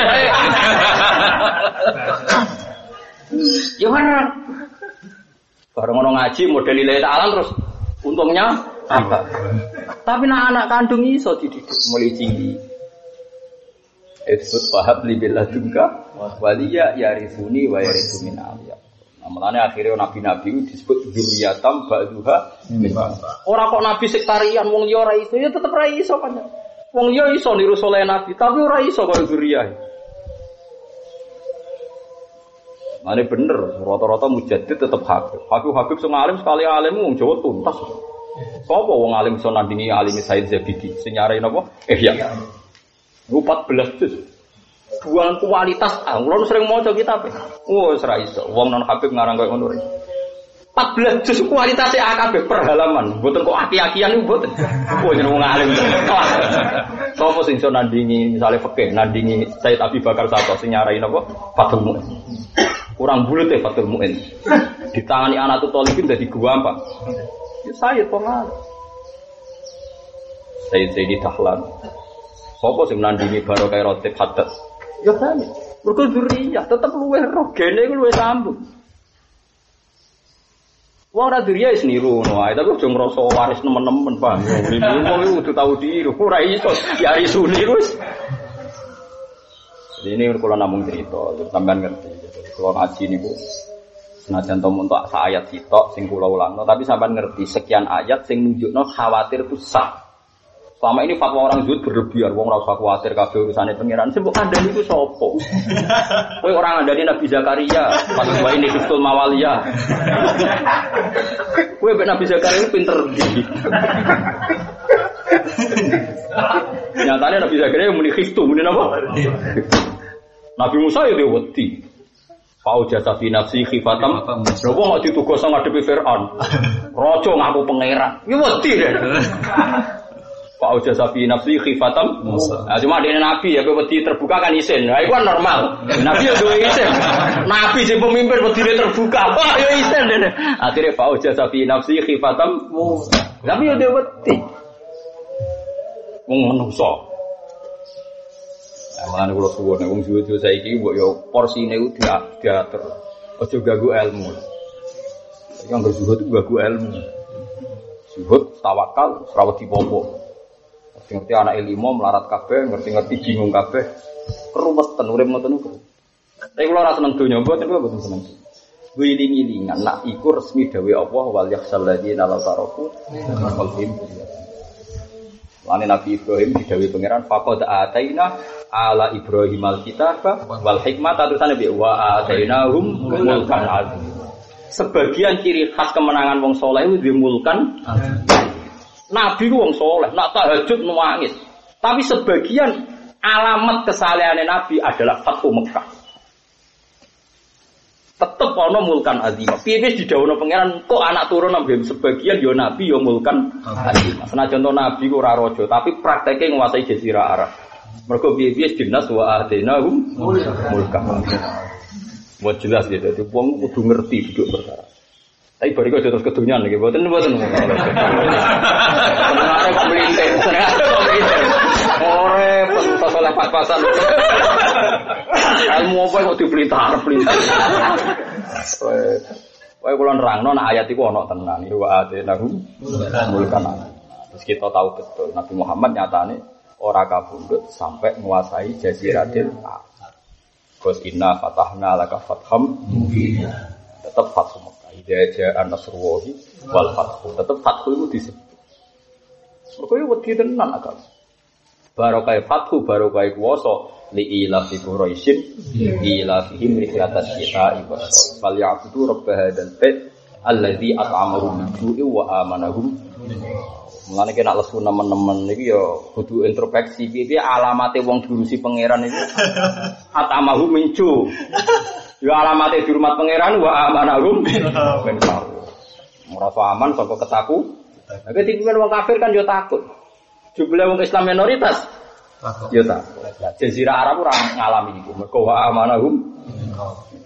Ya bener. Bareng ngono ngaji model lillahi ta'ala terus untungnya apa? Tapi nak anak kandung iso dididik mulai cilik. Disebut fahab li billadunka waliya yarisuni wa yarisu min aliyah. Mulane akhirnya nabi-nabi disebut dzurriyatam ba'duha min ba'd. Ora kok nabi sektarian wong liya ora iso, ya tetep ora iso kan. Wong liya iso niru saleh nabi, tapi ora iso kaya dzurriyah. Mane bener, rata-rata mujaddid tetep Habib. Habib-habib sing alim sekali alim wong Jawa tuntas. Sapa wong alim iso nandingi alime Said Zabidi? Sing nyarani napa? Eh ya. empat belas juz. Buang kualitas ah, kula sering maca kitab. Oh, wis ra iso. Wong non Habib ngarang koyo ngono. empat belas juz kualitasé akeh per halaman. Mboten kok aki-akian niku mboten. Oh, jeneng wong alim. Sopo sing iso nandingi misale fikih, nandingi Said Abi Bakar Sato sing nyarai napa? Fathul Mu'in. Kurang bulet ya Fathul Mu'in. Ditangani anak tu Thalibin dadi gampang. Ya Sayyid pengal. Sayyid Sayyid Dahlan. Sopo sing nandingi barokah Rotib Haddad? Ya kan. Mergo dzurriyah tetep luwih roh, gene iku luwih sambung. Wong ora dzurriyah wis niru ngono ae, tapi aja ngrasa waris nemen-nemen, Pak. Wong iku kudu tau diru, ora iso ya iso niru. Jadi ini kalau namung cerita, sampean ngerti. Jadi kalau ngaji niku senajan to untuk sak ayat sitok sing kula ulangno, tapi sampean ngerti sekian ayat sing nunjukno khawatir ku sah. Selama ini fatwa orang zuhud berlebihan, wong ora usah kuwatir kabeh urusane pangeran. Sing mbok kandhani iku sapa? Kowe ora ngandani Nabi Zakaria, pas wae ini Khiftul Mawaliyah. Kowe mbek Nabi Zakaria pinter ndi? Nyatane Nabi Zakaria muni khiftu, muni napa? Nabi Musa ya wedi. Fau jasa fi nafsi khifatam. Lha wong kok ditugas ngadepi Firaun. Raja ngaku pangeran. Ya wedi deh. Fau jasa fi nafsi khifatam. Nah, cuma dene nabi ya wedi terbuka kan isin. Nah, iku kan normal. Nabi yo duwe isin. Nabi sing pemimpin wedine terbuka. Wah, yo isin dene. Akhire fau jasa fi nafsi khifatam. Tapi yo duwe wedi. Wong menungso. Mulane kula suwun wong suwe-suwe saiki mbok yo porsine ku diatur. Aja ganggu ilmu. Iki anggere zuhud ganggu ilmu. Zuhud tawakal ora wedi popo. Ngerti anake limo melarat kabeh, ngerti-ngerti bingung kabeh. Keruwetan urip ngoten niku. Tapi kula ora seneng donya mboten kula mboten seneng. Wiling-wilingan nak iku resmi dawuh Allah wal yakhsal ladina la taraku qalbihim. Lane Nabi Ibrahim didhawuhi pangeran faqad ataina ala Ibrahim al-kitab wal hikmah terusane bi wa atainahum mulkan azim. Sebagian ciri khas kemenangan wong saleh itu dimulkan. Nabi ku wong saleh, nak tahajud nangis. Tapi sebagian alamat kesalehane Nabi adalah Fathu Mekah. Tetep ana mulkan azim. Piye didhawuhna pangeran kok anak turun nambah sebagian ya nabi ya mulkan azim. Senajan to nabi ku ora raja, tapi prakteke nguasai jazirah Arab. Mergo piye-piye dinas wa ahdinahum mulkan. Mau jelas gitu, dadi wong kudu ngerti duduk perkara. Tapi bariku terus kedunyan nggih, mboten mboten. Senengane kok mlinting, senengane kok mlinting. Ore pentas oleh pas-pasan. Ilmu apa kok diplintar-plintar. Wae kula nerangno nek ayat iku ana tenan. Wa atinahum mulkan. Terus kita tahu betul Nabi Muhammad nyatane ora kabundut sampai menguasai Jaziratul Arab. Qul inna fatahna laka fatham mubina. Tetap fathu Mekah. Idza ja'a nasrullahi wal fathu. Tetap fathu itu disebut. Mergo yo wedi tenan akal. Barokah fathu barokah kuwasa li ila fi quraisyin ila fihim rihlatat syita'i was fal ya'budu rabb hadzal bait alladzi at'amahum min ju'i wa amanahum. Mulane kena lesu nemen-nemen iki ya kudu introspeksi piye alamate wong diurusi pangeran iki. At'amahum min ju'. Ya alamate dihormat pangeran wa amanahum min ju'. Merasa aman saka ketaku. Nek dipimpin wong kafir kan yo takut. Jumlah wong Islam minoritas. Yo takut. Jazirah Arab ora ngalami iku. Mergo wa amanahum